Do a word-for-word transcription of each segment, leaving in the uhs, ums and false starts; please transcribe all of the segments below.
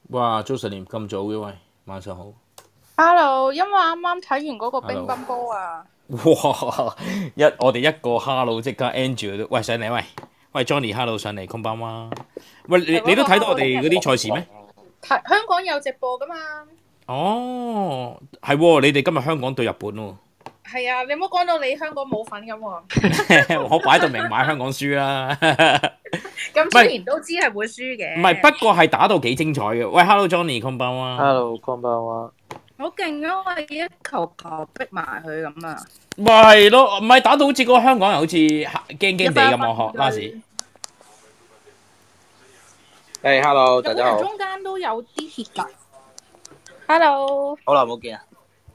哇，早晨咁早嘅喂，晚上好。 Hello，因為啱啱睇完嗰個乒 Hello， 乓波啊， 哇！一我哋一個 hello 即刻 Andrew 都喂上嚟喂，喂 Johnny hello 上嚟，空班哇！喂你你都係嗰個睇到我 Hello 聽日哋嗰啲賽事咩？ 睇香港有直播噶嘛？ 哦，係喎，你哋今日香港對日本喎， 係啊，你唔好講到你香港冇份咁喎。 我擺到明買香港輸啦。唔咁雖係然都知係會輸唔係， 嘅， 不過係打到幾精彩嘅。喂，hello Johnny 空班哇！ Hello，こんばんは。 好勁啊！我一球球逼埋佢咁啊！ 咪係咯，唔係打到好似嗰個香港人好似驚驚地咁啊！學拉屎。 誒，Hello， 日本人大家好。 中間都有啲血㗎。Hello， 好耐冇見啊！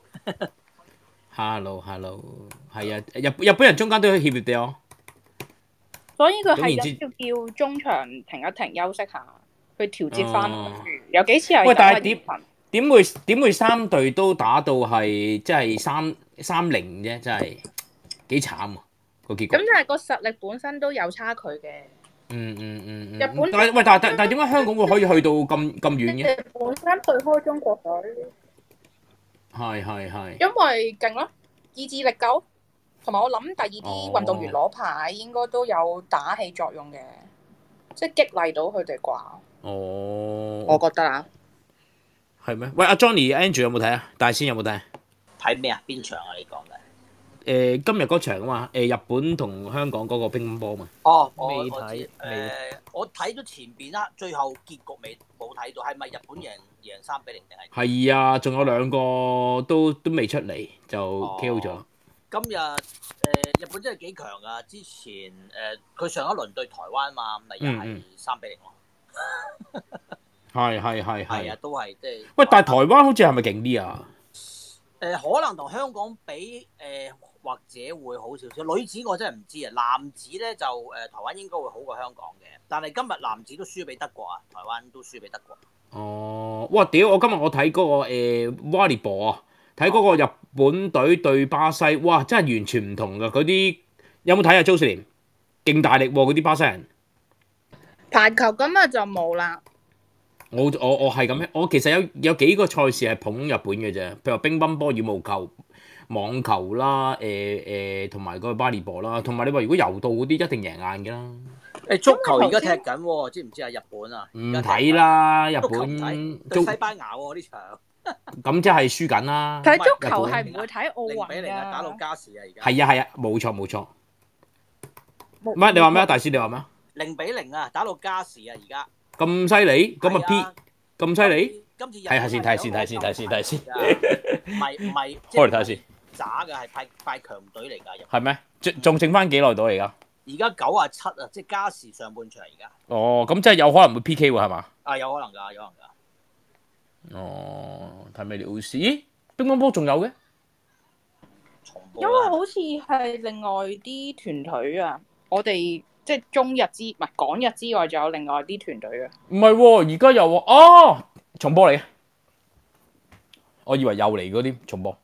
hello hello，係啊，日日本人中間都有協協地哦。 所以佢總言之係要叫中場停一停休息下，去調節翻。 哦有幾次係喂，但係咁點啊？ 點會點會三隊都打到係即係三三零啫？真係幾慘啊個結局。 咁但係個實力本身都有差距嘅。 嗯嗯嗯嗯。 日本但係喂，但係但係點解香港會可以去到咁咁遠嘅？ 本身對開中國隊， 係係係。 因為勁咯，意志力夠，同埋我諗第二啲哦運動員攞牌應該都有打氣作用嘅，即係激勵到佢哋啩。 哦。 我覺得啊， 係咩？喂，阿 Johnny、Andrew 有冇睇啊？大仙有冇睇啊？ 睇咩啊？邊場啊？你講嘅？ 誒、今日嗰場啊嘛，誒、日本同香港嗰個乒乓波嘛。 哦，我未我知睇誒，我睇咗前邊啦，最後結局未冇睇到，係咪日本贏贏三比零定係？ 係啊，仲有兩個都都未出嚟就 K O 咗。 今日誒日本真係幾強啊！之前誒佢上一輪對台灣嘛，咪又係三比零咯。 係係係係啊， 係。 都係即係。 喂，但係台灣好似係咪勁啲啊？ 誒可能同香港比誒，或者會好少少。女子我真係唔知啊，男子咧就誒台灣應該會好過香港嘅，但係今日男子都輸俾德國啊，台灣都輸俾德國。 哦，哇！屌，我今日我睇嗰個誒 volleyball 啊，睇嗰個日本隊對巴西，哇！真係完全唔同噶，嗰啲有冇睇啊？Jocelyn 勁大力喎，嗰啲巴西人。 排球今日就冇啦。 我我我係咁樣，我其實有有幾個賽事係捧日本嘅啫，譬如話乒乓波、羽毛球、網球啦，誒誒同埋嗰個巴利波啦，同埋你話如果柔道嗰啲一定贏硬嘅啦。 誒足球而家踢緊喎，知唔知啊？日本啊， 唔睇啦，日足球唔本睇對西班牙喎呢場。 咁即係輸緊啦。 睇足日本球係唔會睇奧零運比零啊，打到㗎。 加時啊而家。 係啊係啊，冇錯冇錯。唔係你話咩啊？大師你話咩啊？ 零比零啊，打到加時啊而家。 咁犀利，咁啊係啊 P 咁犀利， 今次日睇下先睇下先睇下先睇下先睇下先， 唔係唔係，即開嚟睇下先。 渣嘅係派派強隊嚟㗎， 係咩？仲仲剩翻幾耐到而家？ 而家九啊七啊，即係加時上半場而家。 哦，咁即係有可能會 P K 喎，係嘛？ 啊，有可能㗎，有可能㗎。 哦，睇咩料事？咦，乒乓波仲有嘅？ 重播因為好似係另外啲團隊啊，我哋即係中日之唔係港日之外，仲有另外啲團隊啊。 唔係喎，而家有喎。哦，重播嚟嘅，我以為又嚟嗰啲重播，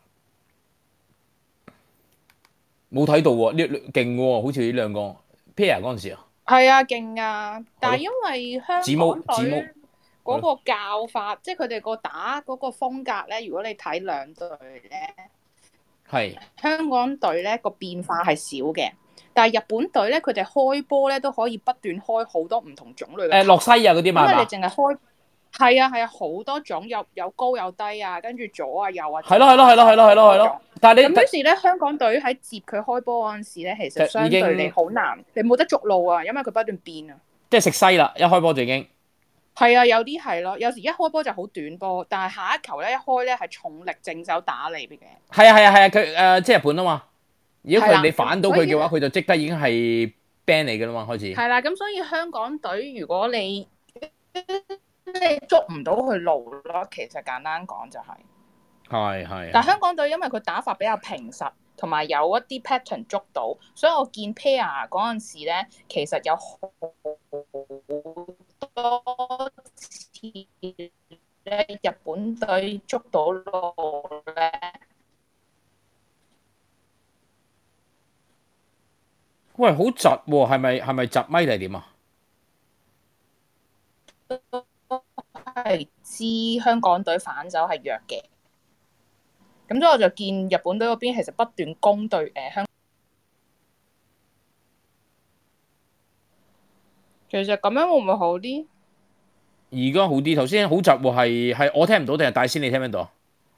冇睇到喎。呢勁喎，好似呢兩個 pair 嗰陣時啊。 係啊，勁啊！但係因為香子毛港隊子毛嗰個教法，即係佢哋個打嗰個風格咧，如果你睇兩隊咧， 係香港隊咧個變化係少嘅，但係日本隊咧佢哋開波咧都可以不斷開好多唔同種類嘅球。 誒洛西啊嗰啲嘛因為你係嘛？ 淨係開係啊係啊好多種，有有高有低啊，跟住左啊右啊。 係咯係咯係咯係咯係咯係咯。但係你咁於是咧，香港隊喺接佢開波嗰陣時咧，其實相對你好難，你冇得捉路啊，因為佢不斷變啊。 即係食西啦，一開波就已經。 係啊，有啲係咯，有時一開波就好短波，但係下一球咧一開咧係重力正手打你嘅。 係啊係啊係啊，佢誒即係日本啊嘛。如果係啦佢你反到佢嘅話， 咁佢就即刻已經係 ban 你㗎啦嘛，開始。 係啦，咁所以香港隊如果你你捉唔到佢路咯，其實簡單講就係、 係係。 但係香港隊因為佢打法比較平實，同埋有一啲 pattern 捉到，所以我見 pair 嗰陣時咧，其實有好多次咧日本隊捉到路咧。 喂，好窒喎，係咪係咪窒咪定係點啊？ 係係知香港隊反手係弱嘅，咁所以我就見日本隊嗰邊其實不斷攻對誒香。其實咁樣會唔會好啲？ 而家好啲，頭先好窒喎，係係我聽唔到定係大仙你聽唔聽到？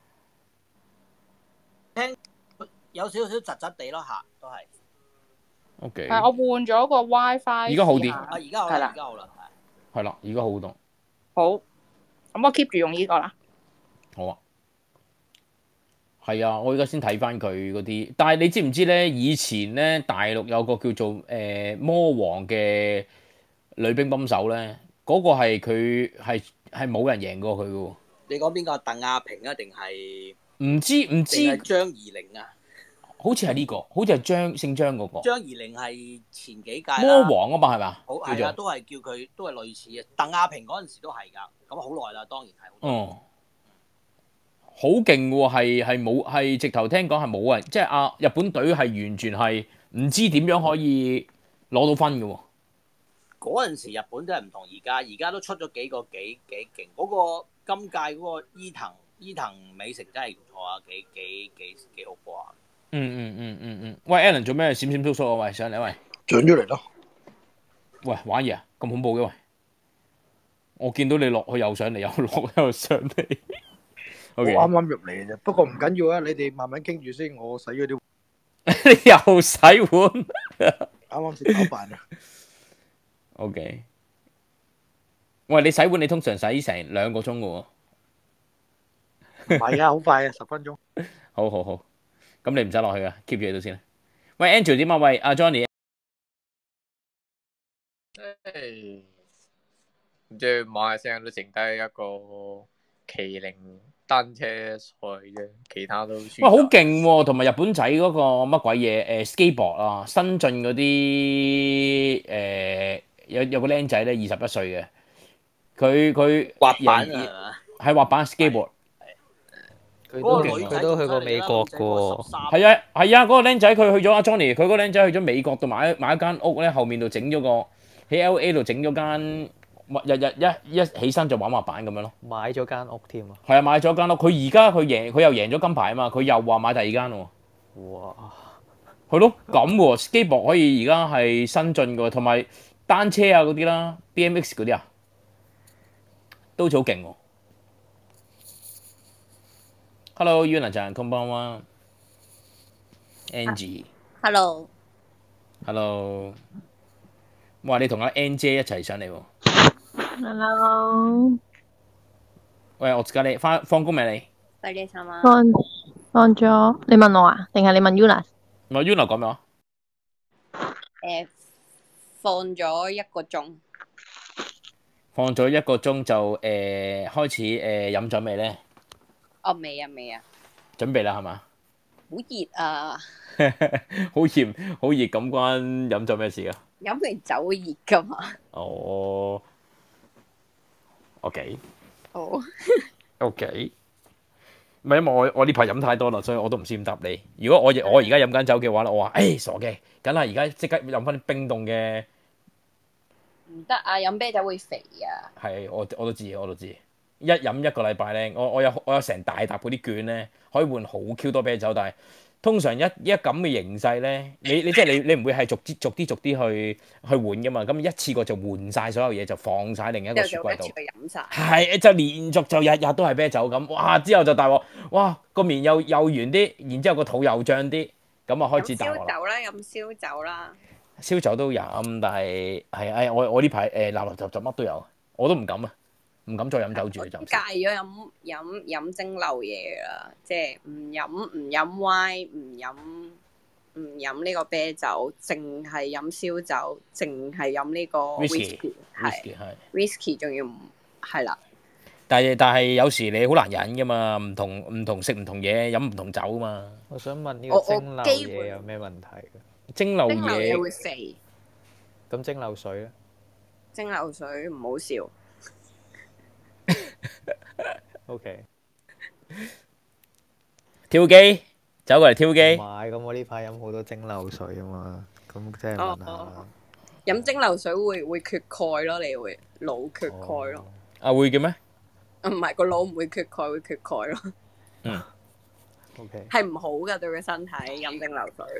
聽有少少窒窒地咯嚇，都係。 O K。 係我換咗個 WiFi。 而家好啲。 啊，而家好啦，而家好啦， 係。係啦，而家好多。 好，咁我 keep 住用呢個啦。 好啊。係啊，我而家先睇翻佢嗰啲，但係你知唔知咧？以前咧大陸有個叫做誒、呃、魔王嘅女乒乓手咧，嗰、那個係佢係係冇人贏過佢嘅喎。 你講邊個？鄧亞萍啊，定係唔知唔知？ 定係張怡玲啊？ 好似係呢個，好似係張姓張嗰、那個。 張怡玲係前幾屆魔王啊嘛，係嘛？ 好係啊，都係叫佢都係類似嘅。鄧亞萍嗰陣時都係㗎，咁好耐啦，當然係。 哦。好勁喎，係係冇係直頭聽講係冇人，即係啊日本隊係完全係唔知點樣可以攞到分嘅喎。 嗰陣時日本真係唔同而家，而家都出咗幾個幾幾勁。嗰、那個今屆嗰個伊藤伊藤美誠真係唔錯啊，幾幾幾幾好波啊！ 嗯嗯嗯嗯嗯，喂 Alan 做咩閃閃縮縮啊？喂上嚟喂， 上咗嚟咯。 喂玩嘢啊？咁恐怖嘅喂！我見到你落去又上嚟，又落又上嚟。 Okay. 我啱啱入嚟嘅啫，不過唔緊要啊，你哋慢慢傾住先，我洗咗啲。 你又洗碗？ 啱啱先打飯啊。 O K。喂，你洗碗你通常洗成兩個鐘嘅喎。 唔係啊，好快啊，十分鐘。 好好好，咁你唔使落去啊 ，keep 住喺度先啦。喂 Andrew 點啊？喂阿 Johnny。 誒，唔知馬來西亞都剩低一個麒麟單車賽啫，其他都輸。 哇，好勁喎！同埋日本仔嗰個乜鬼嘢誒 skateboard 啊，新進嗰啲誒有有個僆仔咧，二十一歲嘅，佢佢滑板啊， 係滑板 skateboard。 佢都佢都去過美國嘅喎。 係啊係啊，嗰個僆仔佢去咗阿 Johnny，佢嗰個僆仔去咗美國度買買一間屋咧，後面度整咗個喺 L A 度整咗間。日日一一起身就玩滑板咁樣咯， 買咗間屋添啊！ 係啊，買咗間屋，佢而家佢贏，佢又贏咗金牌啊嘛，佢又話買第二間喎。 哇！ 係咯，咁喎 skateboard 可以而家係新進嘅，同埋單車啊嗰啲啦 ，B M X 嗰啲啊，都好似好勁喎。Hello Yuna ちゃん，こんばんは。Angie。 Hello。 Hello。哇！你同阿 Ann 姐一齊上嚟喎。 Hello。 喂，我而家你翻放工未？你快啲sama。 放放咗，你問我啊？定係你問 Yuna？ 唔係 Yuna 講咩話？ 誒，放咗一個鐘。 放咗一個鐘就誒、呃、開始誒飲咗未咧？ 哦，未啊，未啊。 準備啦，係嘛？ 好熱啊！ 好熱，好熱咁關飲咗咩事啊？ 飲完酒會熱噶嘛？ 哦。OK。 好。 OK。唔係因為我我呢排飲太多啦，所以我都唔知點答你。如果我我而家飲緊酒嘅話咧，我話誒傻嘅，梗係而家即刻飲翻啲冰凍嘅。 唔得啊！飲啤酒會肥啊！ 係，我我都知，我都知。一飲一個禮拜咧，我我有我有成大沓嗰啲券咧，可以換好 Q 多啤酒，但係通常一一咁嘅形勢咧，你你即係你你唔會係逐啲逐啲逐啲去去換噶嘛，咁一次過就換晒所有嘢，就放晒另一個雪櫃度。係就連續就日日都係啤酒咁，哇！之後就大鑊，哇個面又又圓啲，然之後個肚又脹啲，咁啊開始大鑊啦。 燒酒啦，飲燒酒啦。 燒酒都飲，但係係係我我呢排誒垃垃雜雜乜都有，我都唔敢啊，唔敢再飲酒住就。 戒咗飲飲飲蒸餾嘢啦，即係唔飲唔飲 wine， 唔飲唔飲呢個啤酒，淨係飲燒酒，淨係飲呢個 whisky， 係 whisky 仲要唔係啦。 但係但係有時你好難忍噶嘛，唔同唔同食唔同嘢，飲唔同酒嘛。 我想問呢個蒸餾嘢有咩問題嘅？ 蒸餾嘢會肥。 咁蒸餾水咧？ 蒸餾水唔好笑。 O K。 挑機，走過嚟挑機。 唔係，咁我呢排飲好多蒸餾水啊嘛，咁即係問下。 飲蒸餾水會會缺鈣咯，你會腦缺鈣咯。 啊會嘅咩？ 唔係個腦唔會缺鈣，會缺鈣咯。 嗯。 O K。 係唔好噶對個身體飲蒸餾水。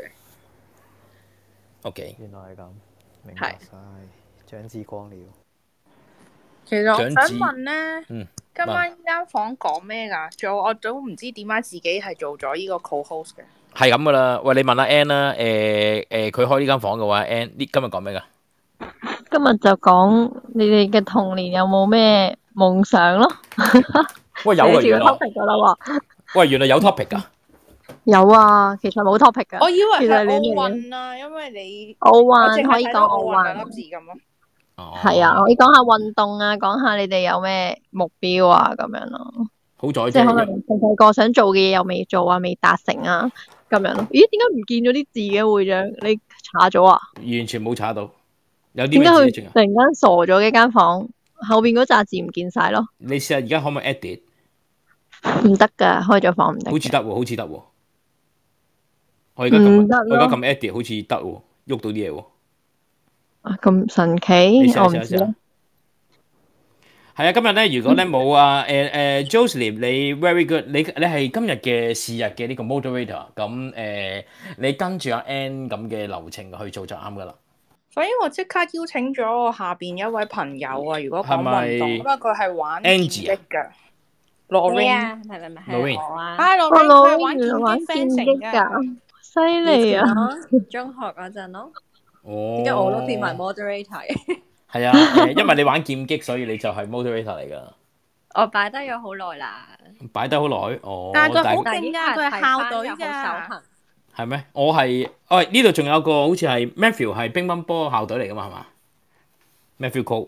O K。 原來係咁，明白晒，長知光了。 其實我想長子問咧， 嗯， 今晚呢間房講咩㗎？仲有我都唔知點解自己係做咗呢個 co-host 嘅。 係咁噶啦。喂，你問阿 Ann 啦，誒誒，佢開呢間房嘅話，Ann 呢今日講咩㗎？ 今日就講你哋嘅童年有冇咩夢想咯？ 喂，有啊， 寫住個原來。 topic 噶啦喎。 喂，原來有 topic 㗎。 有啊，其實冇 topic 噶。 我以為其實係奧你哋運啊，因為你奧我淨運可以講係睇到奧奧運運兩粒。字咁咯。 哦。 係啊，可以講下運動啊，講下你哋有咩目標啊，咁樣咯。 好在即係可能啫。 細細個想做嘅嘢又未做啊，未達成啊，咁樣咯。咦？點解唔見咗啲字嘅會長？你查咗啊？ 完全冇查到。有啲點解佢咩字啊？ 突然間傻咗嘅間房？後邊嗰扎字唔見晒咯。 你試下而家可唔可以 edit？ 唔得噶，開咗房唔得。 好似得喎，好似得喎。我而家撳， 唔得咯我而家撳 edit 好似得喎，喐到啲嘢喎。 啊咁神你奇， 試下我唔知咧試下試下。。係啊，今日咧，如果咧冇啊誒誒 Jocelyn，你 very good，你你係今日嘅是日嘅呢個 moderator，咁誒你跟住阿 Ann 咁嘅流程去做就啱噶啦。 所以我即刻邀請咗我下邊一位朋友啊，如果講係咪運動，因為佢係玩劍 Angie 啊擊嘅。Lorraine， 啊？係咪咪係 Lorraine 我啊？ 啊我 Lorraine 老佢係玩劍原來玩擊劍 fencing 擊嘅。 㗎，犀以利啊！ 前咯，中學嗰陣咯， 哦。 點解我都變埋 moderator 嘅？ 係啊，誒因為你玩劍擊，所以你就係 moderator 嚟㗎。 我擺低咗好耐啦， 擺得好耐，哦。 但係佢好但係勁㗎，佢係校隊好手㗎。 痕。 係咩？我係，喂呢度仲有個好似係 Matthew 係乒乓波校隊嚟㗎嘛，係嘛？Matthew Cole，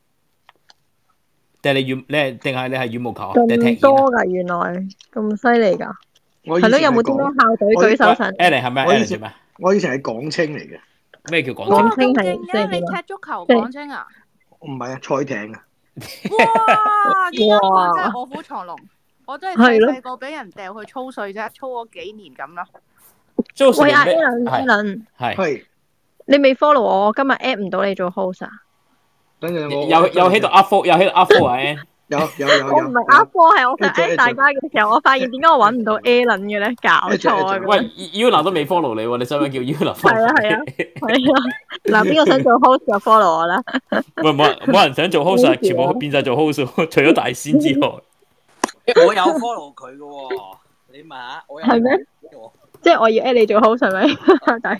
定係你羽，你係定係你係羽毛球啊？定係踢毽啊？ 咁多㗎，原來咁犀利㗎。係咯， 我以前有冇啲咩校隊舉手上？ Alan 係咩？Alan 做我以前咩？ 我以前係港青嚟嘅， 咩叫港哇， 青？ 港青咁係勁嘅！你即係點啊踢足球即係港青啊？ 唔係啊，賽艇啊， 哇！呢間房哇真係卧虎藏龍，我真係係咯細細個俾人掉去操碎啫，操咗幾年咁啦。 喂，阿 Jocelyn 咩？ Alan，Alan， 係係係你未 follow 我，我今日 at 唔到你做 host 啊？ 等陣我有有喺度 up four，有喺度 up four 啊，Ann。 有有有有， 我唔係 up 科，係我想一隻 at 大家嘅時候，我發現點解我揾唔到 Alan 嘅咧？搞錯啊！ 喂，Yuna 都未 follow 你喎，你使唔使叫 Yuna follow？ 係啊係啊係啊！嗱，邊個想做 host 就 follow 我啦。 喂，冇人冇人想做 host，啊全部變晒做 host，除咗大仙之外。 我有 follow 佢嘅喎，你問下我有係咩？即係我要 at 你做 host 係咪？大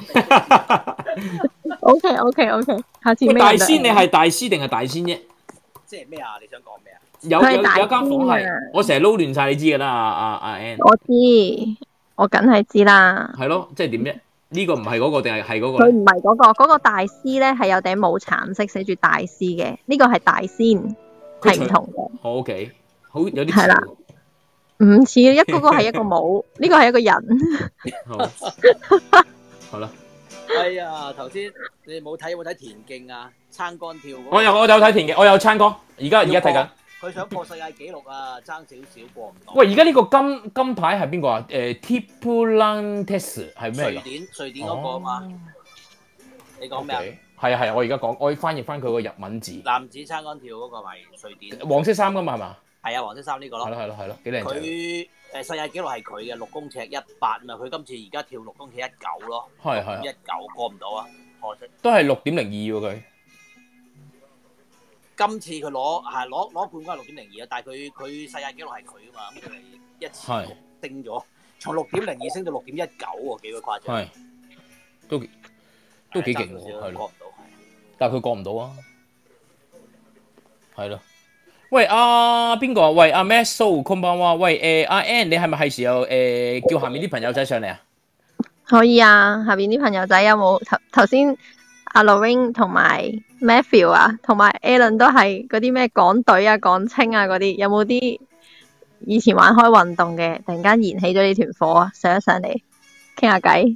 OK OK OK，下次喂， 咩人就大仙 at 你係大師定係大仙啫？ 即係咩啊？你想講咩啊？ 有有有佢係大間房係仙啊， 我成日撈亂晒，你知㗎啦，阿阿阿 Ann。 我知，我梗係知啦。 係咯，即係點啫？呢個唔係嗰個定係係嗰個佢咧？ 唔係嗰個，嗰、個大師咧係有頂帽橙色寫住大師嘅，呢、個係大仙， 佢除係唔同嘅， 好 OK，好有啲係啦似唔似一嗰個係一個帽，呢個係一個人。 喎。好，好啦， 哎呀，頭先你冇睇有冇睇田徑啊？撐杆跳嗰個我有我有睇田嘅，我有參歌，而家而家睇緊。 佢想破世界紀錄啊，爭少少過唔到。 喂，而家呢個金金牌係邊個啊？誒 Duplantis 係咩嚟㗎？ 瑞典瑞典嗰個啊嘛，你講咩啊？ OK 係啊係啊，我而家講，我翻譯翻佢個日文字， 男子撐杆跳嗰個咪瑞典， 黃色衫㗎嘛係嘛？ 係啊，黃色衫呢個係咯。 咯係咯係咯，幾靚仔。 佢誒世界紀錄係佢嘅六公尺一八嘛，佢今次而家跳六公尺一九咯， 係係一九過唔到啊，可惜。 都係六點零二喎佢。 今次佢攞係攞攞冠軍係六點零二啊，但係佢佢世界紀錄係佢啊嘛，咁佢係一次係升咗，從六點零二升到六點一九喎，幾個誇張。 係都幾都幾勁喎，係咯。 係過唔到。 但係佢過唔到啊，係咯。喂，阿邊個啊？喂，阿 Matt So 空班話，喂誒阿 Ann，你係咪係時候誒叫下面啲朋友仔上嚟啊？ 可以啊，下邊啲朋友仔有冇頭頭先阿 Lorraine 同埋 Matthew 啊，同埋 Alan 都係嗰啲咩港隊啊、港青啊嗰啲，有冇啲以前玩開運動嘅，突然間燃起咗呢團火啊，上一上嚟傾下偈。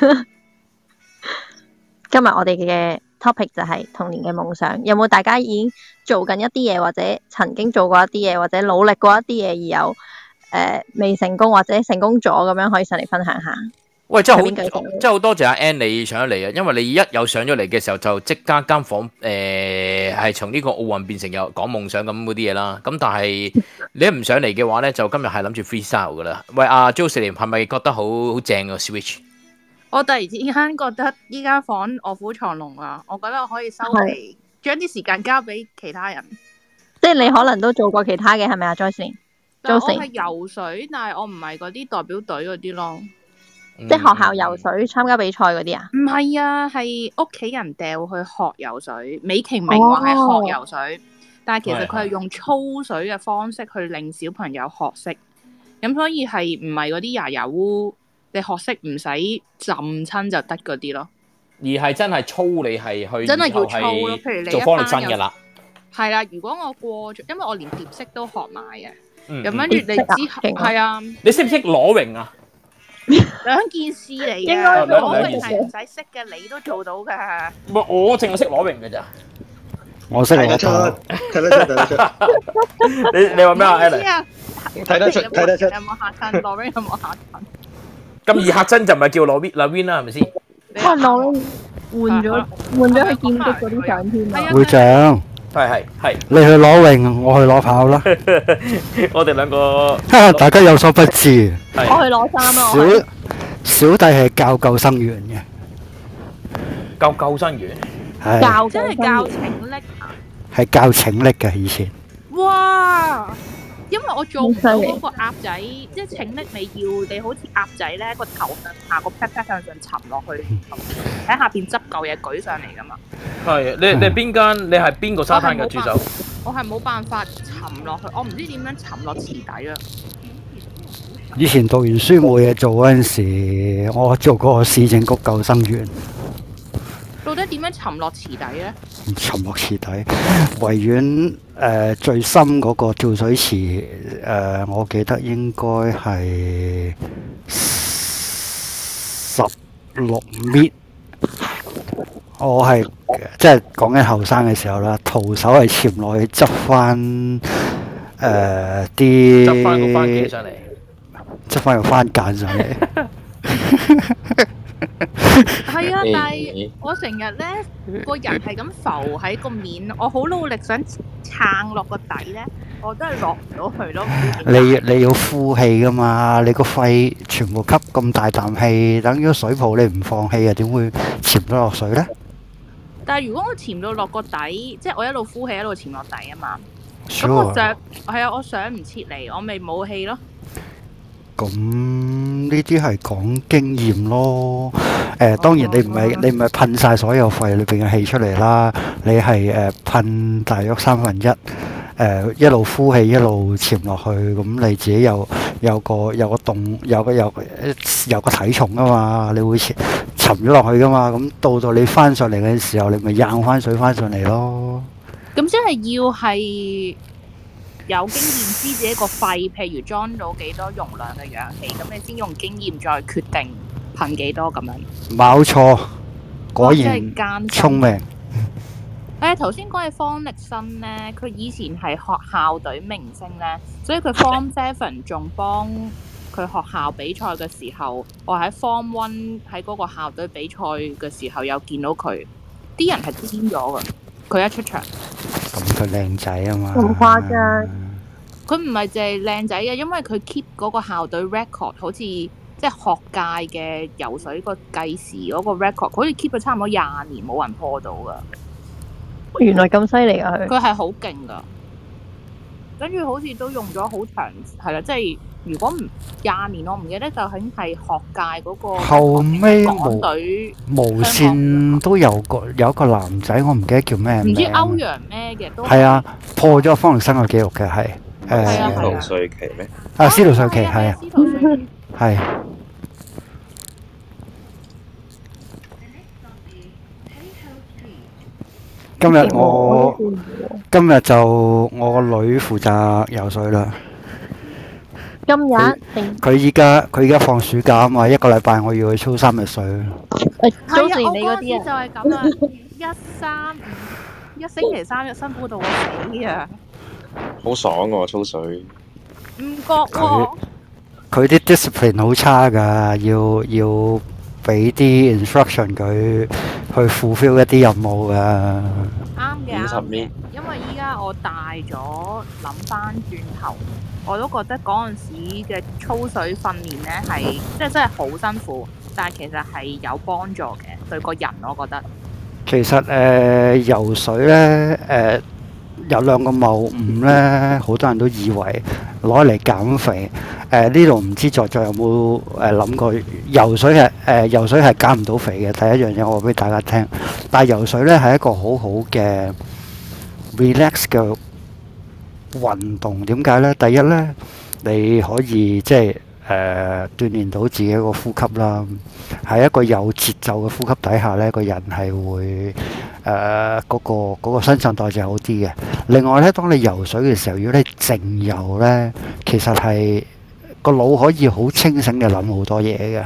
今日我哋嘅 topic 就係童年嘅夢想，有冇大家已經做緊一啲嘢，或者曾經做過一啲嘢，或者努力過一啲嘢而有誒、呃、未成功或者成功咗咁樣，可以上嚟分享下。 喂，真係好， 邊繼續真係好多謝阿 Ann 你上咗嚟啊！因為你一有上咗嚟嘅時候，就即刻間房誒係從呢個奧運變成有講夢想咁嗰啲嘢啦。咁但係你一唔上嚟嘅話咧，就今日係諗住 freestyle 噶啦。喂，阿 Jocelyn 係咪覺得好好正個 Switch？ 我突然之間覺得依間房臥虎藏龍啊！我覺得我可以收皮，將啲時間交俾其他人。 即係你可能都做過其他嘅係咪啊 Joyce？ 但我係游水，但係我唔係嗰啲代表隊嗰啲咯。 即係學校游水參加比賽嗰啲啊？ 唔係啊，係屋企人掉去學游水。美其名話係學游水，哦、但係其實佢係用操水嘅方式去令小朋友學識。咁所以係唔係嗰啲牙油污，你學識唔使浸親就得嗰啲咯。 而係真係操你係去， 真係要操咯。譬如你做方力申嘅啦。 係啦，如果我過咗，因為我連蝶式都學埋嘅。 咁跟住你之後係啊， 你識唔識裸泳啊？ 兩件事嚟嘅，裸泳係唔使識嘅，你都做到㗎。 唔係我淨係識裸泳嘅咋。 我識睇得出，睇得出，睇得出。 你你話咩啊 Alan？ 睇得出，睇得出。 有冇嚇親？裸泳有冇嚇親？ 咁易嚇親就唔係叫裸 win 啦 win 啦，係咪先？ 哇！裸泳換咗換咗去劍擊嗰啲相添啊！ 會長。 係係係， 你去攞泳，我去攞跑啦。 我哋兩個， 大家有所不知。 我去攞衫啊！ 小小弟係教救生員嘅， 教救生員， 係教真係教拯溺啊！ 係教拯溺嘅以前。 哇！因為我做唔到嗰個鴨仔，即係拯溺你要你好似鴨仔咧個頭向下個 pat pat 向上沉落去，喺下邊執嚿嘢舉上嚟噶嘛。 係你你邊間？你係邊個沙灘嘅助手？ 我係冇辦法沉落去，我唔知點樣沉落池底啊！ 以前讀完書冇嘢做嗰陣時，我做嗰個市政局救生員。 到底點樣沉落池底咧？ 沉落池底，維園誒最深嗰個跳水池誒、呃，我記得應該係十六米。我係即係講緊後生嘅時候啦，徒手係潛落去執翻誒啲執翻個番茄上嚟， 執翻個番梘上嚟。 係啊，但係我成日咧個人係咁浮喺個面，我好努力想撐落個底咧，我都係落唔到去咯。 你你要呼氣噶嘛？你個肺全部吸咁大啖氣，等於水泡，你唔放氣啊，點會潛得落水咧？ 但係如果我潛到落個底，即係我一路呼氣一路潛落底啊嘛，咁 Sure. 我上係啊，我上唔切嚟，我咪冇氣咯。 咁呢啲係講經驗咯。誒、呃，當然你唔係你唔係噴晒所有肺裏邊嘅氣出嚟啦，你係誒噴大約三分一，誒、呃、一路呼氣一路潛落去，咁你自己有有個有個動有個有有個體重啊嘛，你會潛沉咗落去噶嘛，咁到到你翻上嚟嘅時候，你咪掗翻水翻上嚟咯。 咁即係要係有經驗知自己個肺，譬如裝到幾多容量嘅氧氣，咁你先用經驗再決定噴幾多咁樣。 冇錯，果然聰明。 誒頭先講嘅方力申咧，佢以前係學校隊明星咧，所以佢 Form Seven 仲幫佢學校比賽嘅時候，我喺 Form One 喺嗰個校隊比賽嘅時候有見到佢，啲人係癲咗㗎，佢一出場。 咁佢靚仔啊嘛， 咁誇張。 佢唔係淨係靚仔嘅，因為佢 keep 嗰個校隊 record， 好似即係學界嘅游水個計時嗰個 record， 好似 keep 咗差唔多廿年冇人破到噶。 原來咁犀利啊！佢佢係好勁噶，跟住好似都用咗好長，係啦，即係如果唔廿年，我唔記得就係係學界嗰個後尾港隊無線都有個有一個男仔，我唔記得叫咩名， 唔知歐陽咩嘅都係啊，破咗方力申嘅記錄嘅係誒司徒瑞奇咩？ 啊，司徒瑞奇係啊，係。今日我今日就我個女負責游水啦。 今日佢依家佢依家放暑假啊嘛，一個禮拜我要去操三日水。 誒，早前你嗰啲就係咁啊，一三五一星期三日辛苦到我死啊！ 好爽喎，操水。 唔覺喎。 佢啲 discipline 好差㗎，要要俾啲 instruction 佢去 fulfill 一啲任務㗎。 啱嘅，啱嘅五十年。 因為依家我大咗，諗翻轉頭，我都覺得嗰陣時嘅操水訓練咧係即係真係好辛苦，但係其實係有幫助嘅對個人，我覺得。 其實誒、呃、游水咧誒、呃、有兩個謬誤咧，好多人都以為攞嚟減肥。誒呢度唔知在座有冇誒諗過游水係誒、呃、游水係減唔到肥嘅。第一樣嘢我話俾大家聽，但係游水咧係一個好好嘅 relax 嘅運動。點解咧？第一咧，你可以即係誒、呃、鍛鍊到自己個呼吸啦。喺一個有節奏嘅呼吸底下咧，個人係會誒嗰、呃嗰個嗰個新陳代謝好啲嘅。另外咧，當你游水嘅時候，如果你靜游咧，其實係個腦可以好清醒嘅諗好多嘢嘅。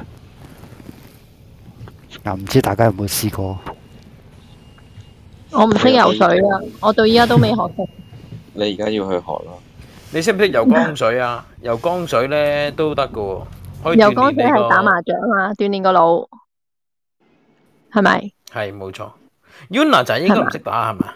嗱，唔知大家有冇試過？ 我唔識游水啊，我到依家都未學識。 你而家要去學咯。 你識唔識游江水啊？游江水咧都得㗎喎，可以游江水鍛鍊你個係打麻雀啊嘛，鍛鍊個腦，係咪？ 係冇錯。Yuna 就應該唔識打係咪？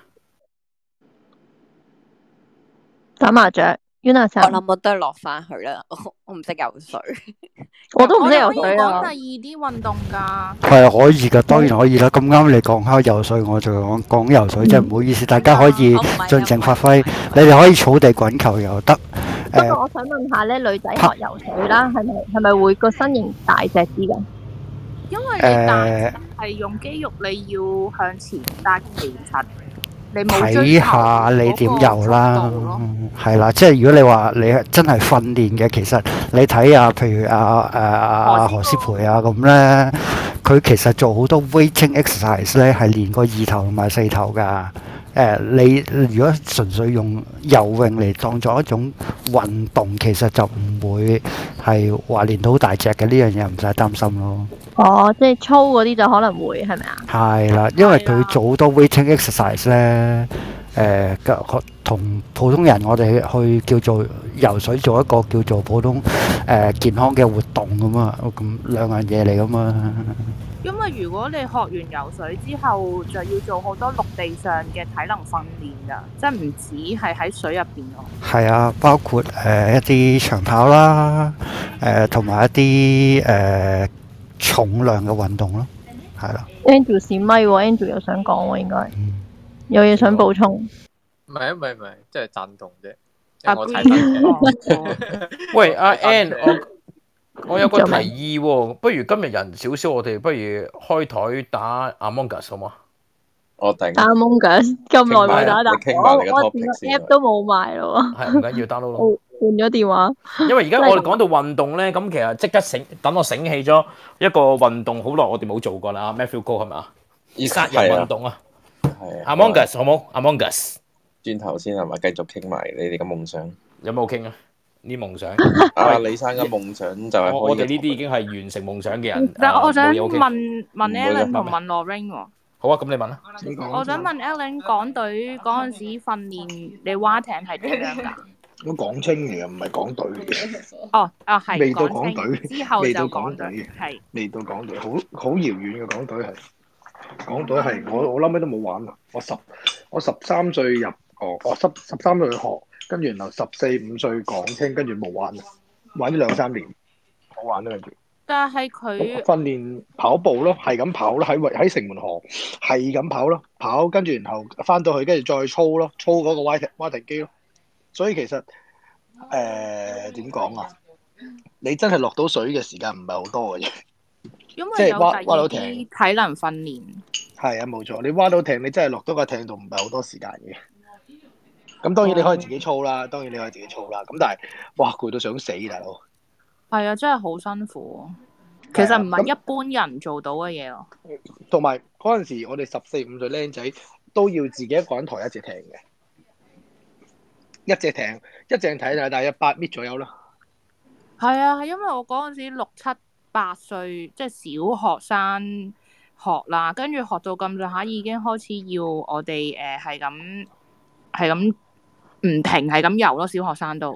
打麻雀，Yuna 我就諗我都係落翻去啦，我我唔識游水。 我都唔識游我哋可以水啊講。第二啲運動㗎。 係可以㗎，當然可以啦。咁啱你講開游水，我就講講游水，真係唔好意思，大家可以我唔係啊盡情發揮。你哋可以草地滾球又得， 不過誒我想問下咧，女仔學游水啦，係咪係咪會個身形大隻啲㗎？ 因為你大誒係用肌肉，你要向前，但係其實你冇追睇求下你點游嗰個啦速度咯。， 係啦，即係如果你話你係真係訓練嘅，其實你睇下，譬如阿誒阿何詩蓓啊咁咧，佢其實做好多 weighting exercise 咧，係練個二頭同埋四頭㗎。誒、你如果純粹用游泳嚟當作一種運動，其實就唔會係話練到好大隻嘅，呢樣嘢唔使擔心咯。 哦，即係粗嗰啲就可能會係咪啊？ 係啦，因為係啊佢做好多 weighting exercise 咧，誒嘅同普通人我哋去叫做游水做一個叫做普通誒、呃健康嘅活動咁啊，咁兩樣嘢嚟噶嘛。 因為如果你學完游水之後，就要做好多陸地上嘅體能訓練㗎，即係唔止係喺水入邊咯。 係啊，包括誒、呃一啲長跑啦，誒同埋一啲誒、呃重量嘅運動咯，係啦。 Andrew 閃咪喎，Andrew 又想講喎，應該嗯有嘢想補充。 唔係啊，唔係唔係，即係贊同啫。 啊因為我睇翻嘅。 喂，阿 Ann， 我我我有個提議喎，不如今日人少少，我哋不如開台打 Among Us 好嗎？ 我頂。 打 Among Us 咁耐冇打打， 你傾埋你個我我 topic 個先 app 都冇埋咯喎， 係唔緊要 download 咯。 我換咗電話。 因為而家我哋講到運動咧，咁其實即刻醒，等我醒起咗一個運動，好耐我哋冇做過啦。Matthew 哥係咪啊？殺人運動啊係啊。 ，Among Us 好冇？Among Us 轉頭先係咪？繼續傾埋你哋嘅夢想。 有冇傾啊？呢夢想， 啊，李生嘅夢想就係我我哋可以呢啲已經係完成夢想嘅人。 但係我想誒冇嘢好傾問問唔會 Alan 嘅同問 Lorraine 喎。 好啊，咁你問啦。 你講我想問 Alan 港隊嗰陣時訓練，你蛙艇係點樣㗎？ 我港青嚟嘅，唔係港隊嚟嘅， 哦，啊係未到港青港隊之後未到就港港隊嘅係。 未到港隊，好好遙遠嘅港隊係。港隊係我我諗尾都冇玩啊！我十我十三歲入哦，我十十三歲去學，跟住然後十四五歲港青，跟住冇玩啊，玩咗兩三年，冇玩啦跟住。 但係佢訓練跑步咯，係咁跑咯，喺喺城門河係咁跑咯，跑跟住然後翻到去，跟住再操咯，操嗰個蛙艇蛙艇機咯。所以其實誒點講啊？你真係落到水嘅時間唔係好多嘅啫。 因即係蛙為有第二啲蛙到艇體能訓練。 係啊，冇錯，你蛙到艇，你真係落到個艇度唔係好多時間嘅。咁當然你可以自己操啦，當然你可以自己操啦。咁但係哇攰到想死，大佬。 係啊，真係好辛苦。其實唔係一般人做到嘅嘢咯。 同埋嗰陣時，我哋十四五歲僆仔都要自己一個人抬一隻艇嘅，一隻艇一隻艇就大約八米左右啦。 係啊，係因為我嗰陣時六七八歲，即係小學生學啦，跟住學到咁上下已經開始要我哋誒係咁係咁唔停係咁游咯，小學生都。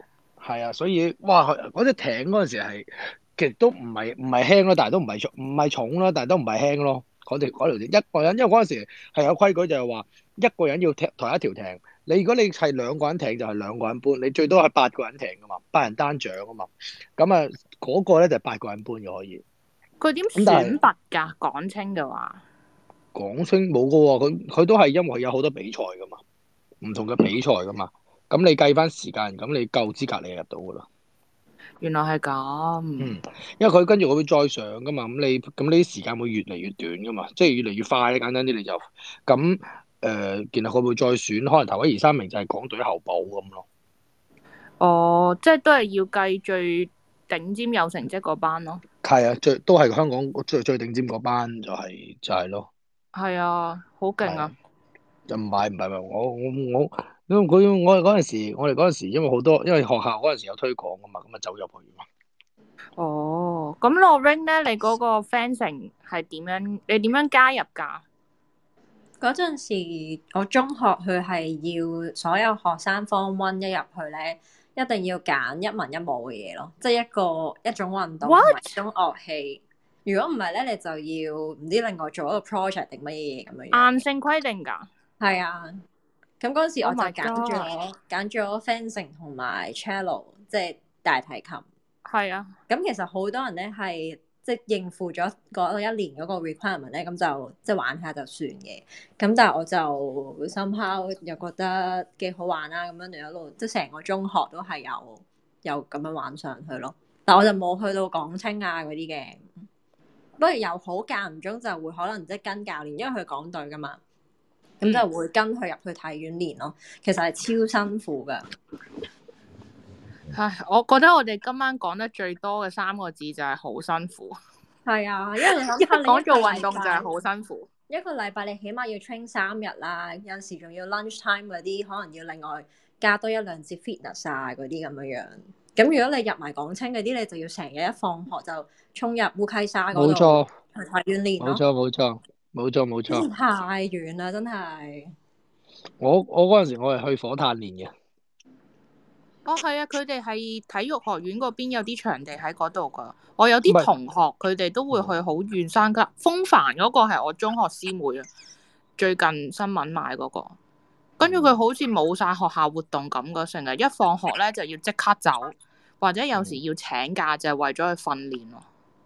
係啊，所以哇，嗰隻艇嗰陣時係其實都唔係唔係輕咯，但係都唔係重唔係重咯，但係都唔係輕咯。嗰條嗰條艇一個人，因為嗰陣時係有規矩，就係話一個人要踢抬一條艇。你如果你係兩個人艇就係兩個人搬，你最多係八個人艇噶嘛，八人單槳啊嘛。咁啊嗰個咧就係八個人搬嘅可以。 佢點咁但係選拔㗎？港青嘅話， 港青冇噶喎，佢佢都係因為有好多比賽噶嘛，唔同嘅比賽噶嘛。咁你計翻時間，咁你夠資格你就入到噶啦。 原來係咁。 嗯，因為佢跟住我會再上噶嘛，咁你咁呢啲時間會越嚟越短噶嘛，即係越嚟越快咧。簡單啲你就咁誒，然後佢會再選，可能頭一二三名就係港隊候補咁咯。 哦，即係都係要計最頂尖有成績嗰班咯。 係啊，最都係香港最最頂尖嗰班就係、就係、咯。 係啊，好勁啊！ 就唔係唔係唔係，我我我因為佢我哋嗰陣時，我哋嗰陣時因為好多，因為學校嗰陣時有推廣噶嘛，咁啊走入去嘛。 哦，咁 Lorraine 咧，你嗰個 fencing 係點樣？你點樣加入㗎？ 嗰陣時，我中學佢係要所有學生 Form One 一入去咧，一定要揀一文一武嘅嘢咯，即係一個一種運動同埋一種樂器。如果唔係咧，你就要唔知另外做一個 project 定乜嘢咁樣樣。 硬性規定㗎？ 係啊，咁嗰陣時我就 Oh my 揀咗揀咗 fencing 同埋 cello，即係大提琴。 係啊， 咁其實好多人咧係即係應付咗嗰一年嗰個 requirement 咧，咁就即係玩下就算嘅。咁但係我就 somehow 又覺得幾好玩啦，咁樣就一路即係成個中學都係有有咁樣玩上去咯。但我就冇去到港青啊嗰啲嘅，不過又好間唔中就會可能即係跟教練，因為佢港隊噶嘛，咁就會跟佢入去體院練咯。其實係超辛苦噶。 唉，我覺得我哋今晚講得最多嘅三個字就係好辛苦。 係啊，因為你諗一下， 講做運動就係好辛苦。 一個禮拜你起碼要 train 三日啦，有陣時仲要 lunch time 嗰啲，可能要另外加多一兩節 fitness 啊嗰啲咁樣樣。咁如果你入埋港青嗰啲，你就要成日一放學就衝入烏溪沙嗰度去體院練咯。 冇錯冇錯冇錯冇錯。 太遠啦，真係。 我我嗰陣時我係去火炭練嘅。 哦，係啊，佢哋係體育學院嗰邊有啲場地喺嗰度噶。我有啲同學佢哋都會去好遠山噶。風帆嗰個係我中學師妹啊，最近新聞買嗰個。跟住佢好似冇晒學校活動咁噶，成日一放學咧就要即刻走，或者有時要請假就係為咗去訓練咯。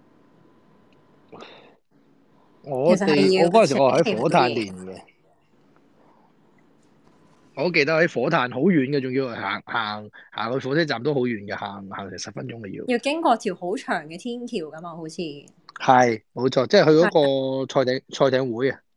我哋我嗰陣時我係喺火炭練嘅。我記得喺火炭好遠嘅，仲要行行行去火車站都好遠嘅，行行成十分鐘嘅要。 要經過條好長嘅天橋噶嘛，好似。 係，冇錯，即係去嗰個賽艇賽艇會啊。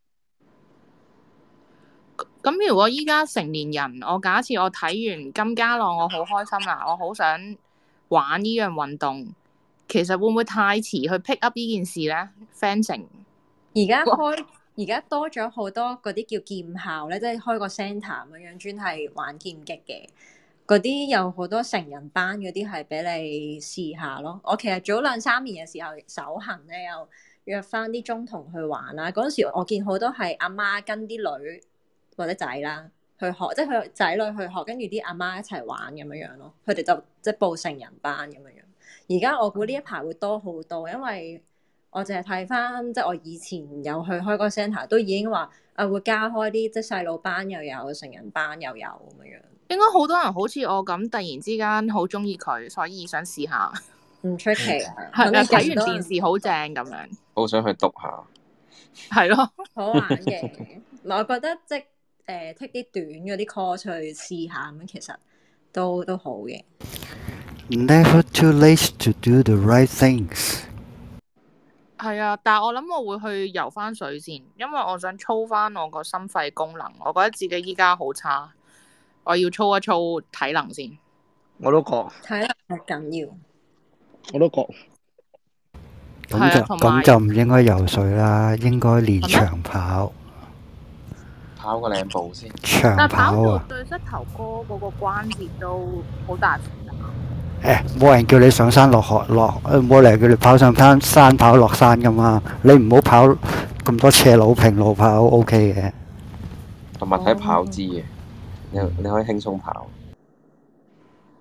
咁如果依家成年人，我假設我睇完金家朗，我好開心啦，我好想玩呢樣運動，其實會唔會太遲去 pick up 呢件事咧 ？Fencing 而家開。而家多咗好多嗰啲叫劍校咧，即係開個 centre 咁樣，專係玩劍擊嘅。嗰啲有好多成人班嗰啲係俾你試下咯。我其實早兩三年嘅時候手痕咧，又約翻啲中同去玩啦。嗰陣時我見好多係阿媽跟啲女或者仔啦去學，即係佢仔女去學，跟住啲阿媽一齊玩咁樣樣咯。佢哋就即係報成人班咁樣樣。而家我估呢一排會多好多，因為我淨係睇翻，即係我以前有去開個 centre，都已經話啊會加開啲即係細路班又有，成人班又有咁樣。 應該好多人好似我咁，突然之間好中意佢，所以想試下。 唔出奇啊！ 係啊，睇完電視好正咁樣。 好想去篤下。 係咯， 好玩嘅。我覺得即係誒 take 啲短嗰啲 course 去試下咁，其實都都好嘅。 Never too late to do the right things。 係啊，但係我諗我會去游翻水先，因為我想操翻我個心肺功能。我覺得自己依家好差，我要操一操體能先。 我都覺體能係緊要。 我都覺。 咁就咁就唔應該游水啦，應該練長跑。 跑個兩步先。 長跑啊！ 對膝頭哥嗰個關節都好大負擔。 誒，冇人叫你上山落河落，冇理由叫你跑上山山跑落山噶嘛。你唔好跑咁多斜路平路跑 OK 嘅。 同埋睇跑姿嘅，你你可以輕鬆跑。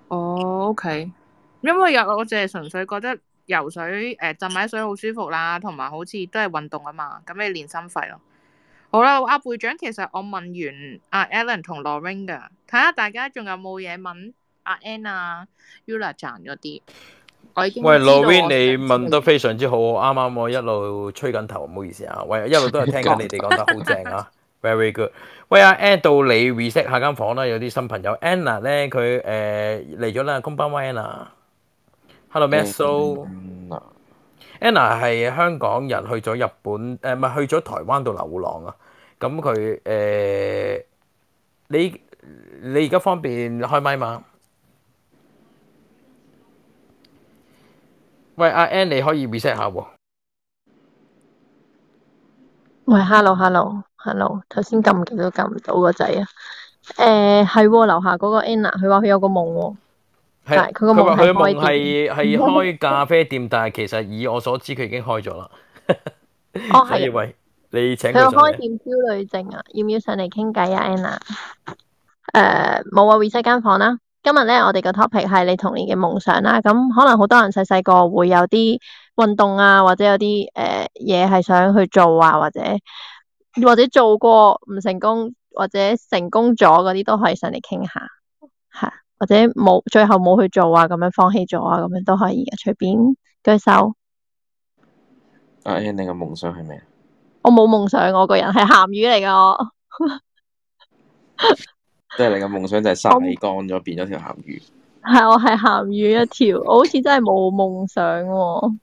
哦，OK，因為有我淨係純粹覺得游水誒、呃、浸喺水好舒服啦，同埋好似都係運動啊嘛，咁你練心肺咯。好啦，阿會長，其實我問完阿 Alan 同 Lorraine 噶，睇下大家仲有冇嘢問阿 Ann 啊、Ula 賺嗰啲。我已經喂知道我 ，Lorraine，你想知嘅問得非常之好，啱啱我一路吹緊頭，唔好意思啊。喂，一路都係聽緊你哋講得好正啊，very good。喂，阿 Ann 到你 reset 下間房啦，有啲新朋友 Anna 咧，佢誒嚟咗啦，こんばんは Anna。Hello Meso。Anna 係香港人，去咗日本誒，唔係去咗台灣度流浪啊。咁佢誒，你你而家方便開麥嘛？喂，阿 Ann 你可以 reset 下喎。 喂，hello，hello，hello，頭先撳極都撳唔到個掣啊！誒係喎，樓下嗰個 Anna，佢話佢有個夢喎，但係佢個佢話佢嘅夢係開夢係係店。 開咖啡店，但係其實以我所知佢已經開咗啦。 哦，係啊， 所以喂，你請佢有佢上嚟。 開店焦慮症啊，要唔要上嚟傾偈啊，Anna？誒冇啊，reset 間房啦。今日咧，我哋個 topic 係你童年嘅夢想啦。咁可能好多人細細個會有啲運動啊，或者有啲誒嘢係想去做啊，或者或者做過唔成功，或者成功咗嗰啲都可以上嚟傾下，係或者冇最後冇去做啊，咁樣放棄咗啊，咁樣都可以嘅，隨便舉手。 阿 Ann，你嘅夢想係咩？ 我冇夢想，我個人係鹹魚嚟噶，我即係你嘅夢想就係曬乾咗變咗條鹹魚。 係我係鹹魚一條，我好似真係冇夢想喎。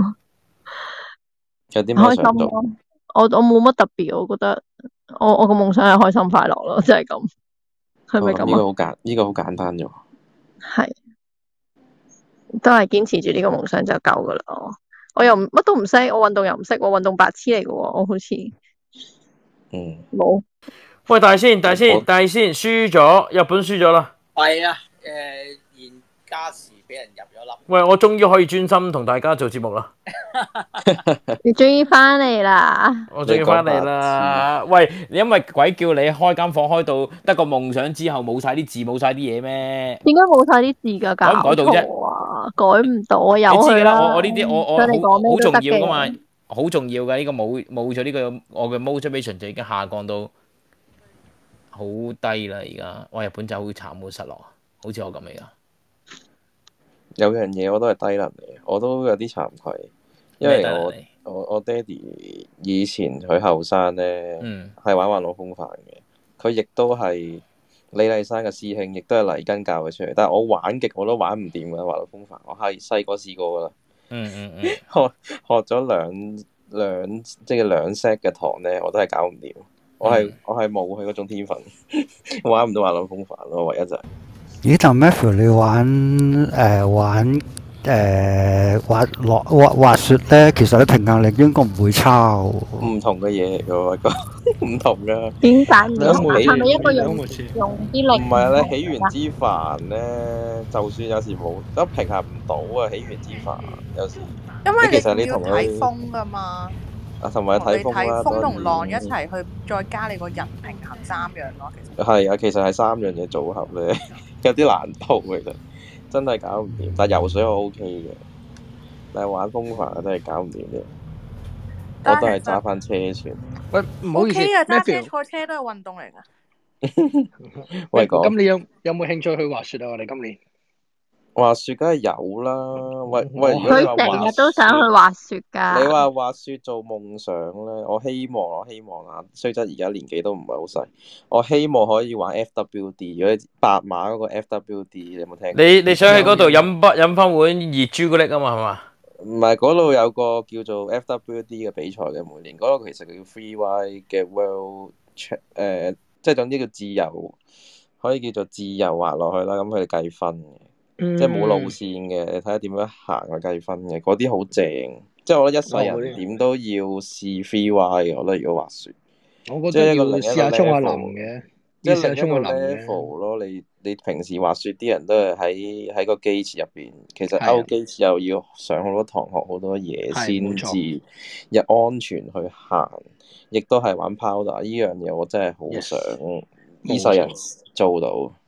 有啲咩開想做？ 心咯，我我冇乜特別，我覺得我我個夢想係開心快樂咯，即係咁，係咪哦，咁呢咁啊？ 個好簡，呢個好簡單啫喎。 係，都係堅持住呢個夢想就夠噶啦。我我又唔乜都唔識，我運動又唔識，我運動白痴嚟嘅喎，我好似嗯冇。 喂，大仙，大仙，大仙，輸咗，日本輸咗啦。 係啊，誒現加時俾人入咗粒。 喂，我終於可以專心同大家做節目啦。 你終於翻嚟啦！ 我終於翻嚟啦！喂，因為鬼叫你開間房開到得個夢想之後冇晒啲字冇晒啲嘢咩？ 點解冇晒啲字㗎？ 改唔改到啫？ 啊，改唔到啊！有佢你知㗎啦，我啦。 我呢啲我我想你講咩好好重都得要㗎嘛嘅。， 好重要㗎。呢個冇冇咗呢個我嘅 motivation 就已經下降到好低啦。而家我日本就好慘好失落，好似我咁嚟㗎。 有樣嘢我都係低能嚟，我都有啲慚愧，因為我咩低能嚟我我爹哋以前佢後生咧， 嗯係玩滑浪風帆嘅，佢亦都係李麗珊嘅師兄，亦都係黎根教佢出嚟，但係我玩極我都玩唔掂嘅滑浪風帆，我係細個試過噶啦， 嗯嗯嗯， 學學咗兩兩即係兩 set 嘅堂咧，我都係搞唔掂，我係、 嗯我係冇佢嗰種天分，玩唔到滑浪風帆咯，唯一就係、 咦？但 Matthew 你玩誒、呃、玩誒、呃、滑落滑滑雪咧，其實你平衡力應該唔會差喎。 唔同嘅嘢嚟嘅喎，個唔同噶。 點解唔同啊？ 兩回事係咪一個用兩回事用啲力？ 唔係啊，你起源之帆咧，就算有時冇都平衡唔到啊！起源之帆有時， 因為其實你你要同佢睇風噶嘛， 啊，同埋同你睇風啦， 睇風同浪當然一齊去，再加你個人平衡三樣咯。其實係啊，其實係三樣嘢組合咧，有啲難度其實真係搞唔掂。但係游水我 O K 嘅，但係玩風帆真係搞唔掂嘅。我都係揸翻車船。 喂，唔好 O 意思 K 嘅，揸車 ，Matthew， 賽車都係運動嚟㗎。 喂，講咁你有有冇興趣去滑雪啊？我哋今年滑雪梗係有啦。喂喂，如果你話佢成滑日都想去滑雪㗎。 你話滑雪做夢想咧，我希望我希望啊，雖則而家年紀都唔係好細，我希望可以玩 F W D，如果白馬嗰個 F W D，你有冇聽過？ 你你想去嗰度飲不飲翻碗熱朱古力啊嘛，係嘛？ 唔係，嗰度有個叫做 F W D 嘅比賽嘅，每年嗰、個其實叫 Freeride 嘅 World Cha- 誒，即係總之叫自由，可以叫做自由滑落去啦。咁佢哋計分嘅， 嗯即係冇路線嘅，你睇下點樣行去計分嘅，嗰啲好正。即係我覺得一世人點都要試 Freeride 嘅，我覺得如果滑雪， 我覺得要試下衝下浪嘅， 即係另一個要試下衝下浪嘅。 level 咯。你你平時滑雪啲人都係喺喺個機池入邊，其實係啊勾機池又要上好多堂學好多嘢係先冇錯至入安全去行，亦都係玩 powder 呢樣嘢，我真係好想呢世人做到。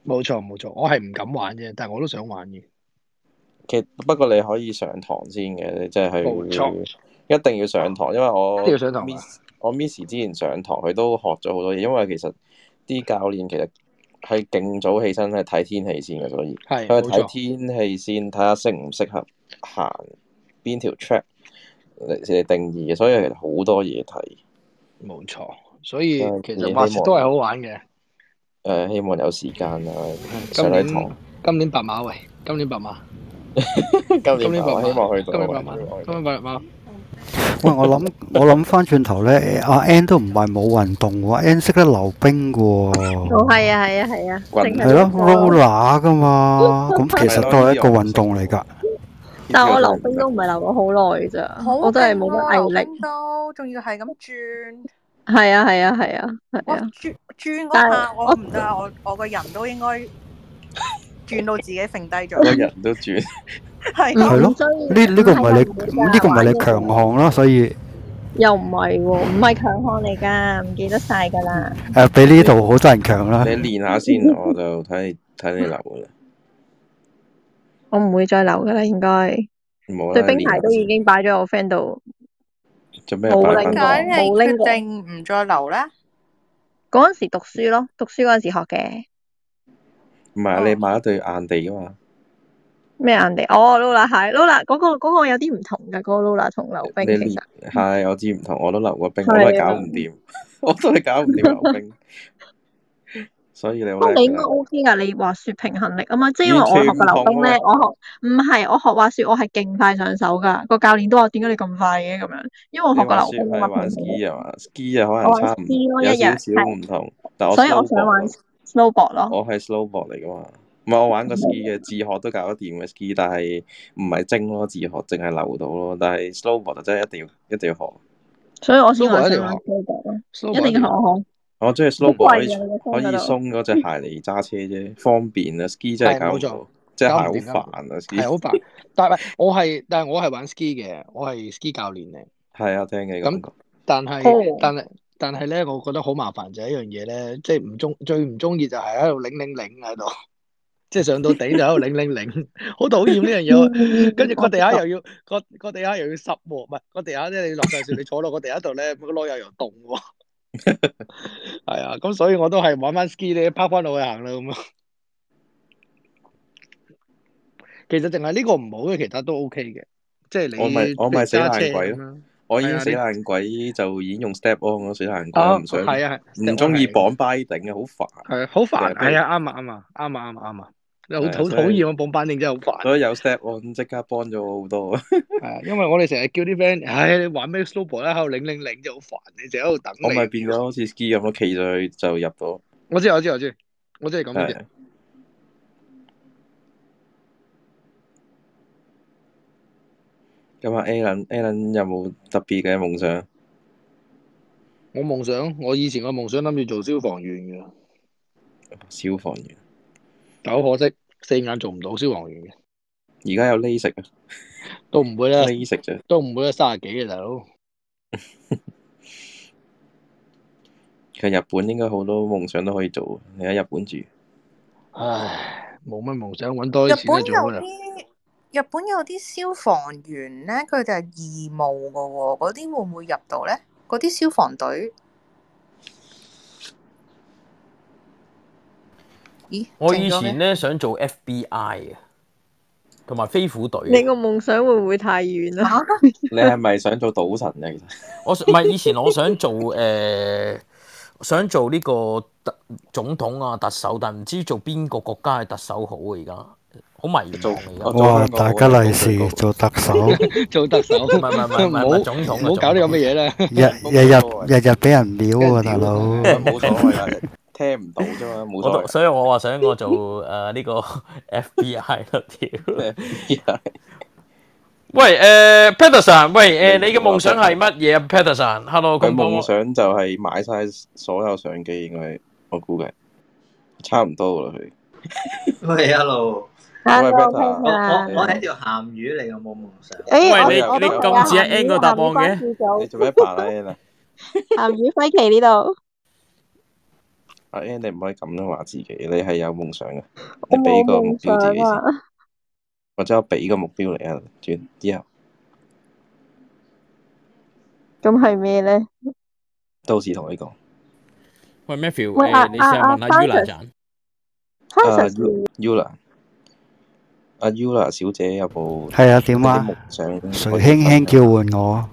冇錯冇錯，我係唔敢玩啫，但係我都想玩嘅。 其實不過你可以上堂先嘅，你即係冇錯一定要上堂，因為我一定要上堂啊 miss 我 miss 之前上堂，佢都學咗好多嘢。因為其實啲教練其實係勁早起身係睇天氣先嘅，所以係冇錯佢係睇天氣先，睇下適唔適合行邊條 track 嚟嚟定義嘅，所以其實好多嘢睇。 冇錯，所以誒其實滑雪都係好玩嘅。 誒，希望有時間啦， 今上喺年堂。 今年白馬喂，今年白馬， 今今年白馬， 希望去到。 今年白馬，今年白馬。 喂，我諗我諗翻轉頭咧，阿 N 都唔係冇運動喎，N 識得溜冰嘅喎。 哦，係啊，係啊，係啊， 滾淨係咯係 ，roller 噶嘛，咁其實都係一個運動嚟㗎。 但係我溜冰都唔係溜咗好耐咋， 好我真係冇勁啊乜毅力。 溜冰都仲要係咁轉， 係啊，係啊，係啊，係哇啊。 轉轉嗰但係下我唔得啊，我我個人都應該轉到自己揈低個咗。 人都轉。 係係咯， 所以呢呢個唔係係你呢個唔係你強項啦，所以又唔係喎，唔係強項嚟㗎，唔記得晒㗎啦。 誒比呢度好多人強啦。 你練下先，我就睇你睇你流㗎啦。 我唔會再留㗎啦，應該。 冇啦， 對冰鞋都已練下先。 經擺咗我 friend 度， 做咩冇擺翻拎過點解你冇拎過。 決定唔再留咧？ 嗰陣時讀書咯，讀書嗰陣時學嘅。 唔係啊，你買一對硬地㗎嘛？ 咩硬地？哦，Lola 係 Lola 嗰個嗰個有啲唔同㗎，嗰個 Lola 同溜冰你其實練係我知唔同，我都溜過冰， 係啊我都係搞唔掂，我都係搞唔掂溜冰。所以你好不過你應該叻㗎啦。 O K 㗎，你滑雪平衡力啊嘛，即係因為我完全唔學嘅溜冰咧， 同喎。 我學唔係我學滑雪，我係勁快上手㗎，個教練都話點解你咁快嘅咁樣，因為我學嘅你滑雪溜冰啊嘛， 係玩平衡力 ski 啊嘛？ski 啊可我玩能差唔 ski 咯， 有少一日係， 少唔同，但我所以我想 snowboard 玩咯， snowboard 咯。 我係 snowboard 嚟㗎嘛。唔係我玩過 ski 嘅，自學都搞得掂嘅 ski，但係唔係精咯，自學淨係溜到咯。但係 snowboard 就真係一定要一定要學。 所以我先話 snowboard 一定想玩要學 snowboard 咯，一 ，snowboard 一定要學定要學。 學。 我中意好 snowboard 可以貴啊！你個可以 friend 嗰度， 鬆嗰隻鞋嚟揸車啫，方便啊。ski 真係係冇錯， 搞唔到，隻鞋好搞唔掂，搞唔煩啊。 掂，係 ski 好煩。但係我係但係我係玩 ski 嘅，我係 ski 教練嚟。 係啊，聽嘅感覺。 咁但係哦， 但係但係咧，我覺得好麻煩就係一樣嘢咧，即係唔中最唔中意就係喺度擰擰擰喺度，即係上到頂就喺度擰擰擰，好討厭呢樣嘢。 嗯， 跟住個我知道。 地下又要個個地下又要濕喎，唔係個地下咧，你落晒雪，你坐落個地下度咧，個籮柚又凍喎。係啊，咁所以我都係玩翻 ski 咧，拋翻落去行啦咁樣。其實淨係呢個唔好嘅，其他都 OK 嘅。即係你我咪我咪死譬如揸車爛鬼咯， 咁樣。 我已經死係啊，你爛鬼就已經用 step on 咯，死爛鬼啊唔想係啊係唔 step 中 on 意係綁巴頂嘅，好煩。 係啊，好煩。 成日俾係啊，啱啊啱啊啱啊啱啊啱啊，你好好係啊，所討以厭啊！綁板定真係好煩。 所以有 step on 即刻幫咗我好多啊！ 係啊，因為我哋成日叫啲 friend，唉，你玩咩 snowboard 咧，喺度擰擰擰就好煩，你成日喺度等我咪你。 變咗好似 ski 咁咯，企上去就入到。 我知我知我知，我知係咁嘅啫。 係咁啊，Alan Alan 有冇特別嘅夢想？ 我夢想，我以前個夢想諗住做消防員嘅， 消防員但好可惜四眼做唔到消防員嘅， 而家有 LASIK 啊都唔會啦， ，LASIK 啫。 都唔會啦，三十幾嘅大佬。 其實日本應該好多夢想都可以做，你喺日本住。 唉，冇乜夢想，揾多日啲錢本有就做乜啦？ 啲日本有啲消防員咧，佢哋係義務噶喎，嗰啲會唔會入到咧？嗰啲消防隊，咦？ 我以靜咗嘅前咧想做 F B I 嘅，同埋飛虎隊你嘅。 個夢想會唔會太遠啊？ 嚇你係咪想做賭神啊？其實我唔係以前我想做誒、呃想做呢個特總統啊特首，但唔知做邊個國家嘅特首好啊！而家好迷茫啊！而家哇！大家利是做特首， 做特首， 唔係唔係唔係唔係唔好總統啊唔好搞啲咁嘅嘢啦。 日日日日日俾人秒喎，大佬。 冇所謂啊，聽唔到啫嘛，冇我所謂。 都所以我話想我做誒呢、呃呢個 F B I 咯，屌！喂誒、呃、Peterson，喂誒、呃、你嘅夢想係乜嘢啊 Peterson？Hello， 佢咁幫我夢想就係買晒所有相機，應該我估計差唔多啦。佢喂，hello， 喂 Hello， Peter， 我我 Peter。 我係一條鹹魚嚟嘅，冇夢想。 誒，我喂你我都係你咁似阿啊鹹 N 魚個答案鹹魚關嘅， 注組， 你做咩扮啊？Ann 啊？ 鹹魚輝奇呢度。 阿 Ann 你唔可以咁樣話自己，你係有夢想嘅， 我你俾個目冇夢想標自己先， 啊！ 或者我俾個目標嚟啊，轉之後咁係咩咧？ 到時同你講。 喂 Matthew， 喂啊誒你試下啊問下 Yula Francis 陣。 啊 Francis Yula，阿 Yula 小姐有冇係啊，點啊有啲夢想可以誰分輕輕享？ 叫喚我？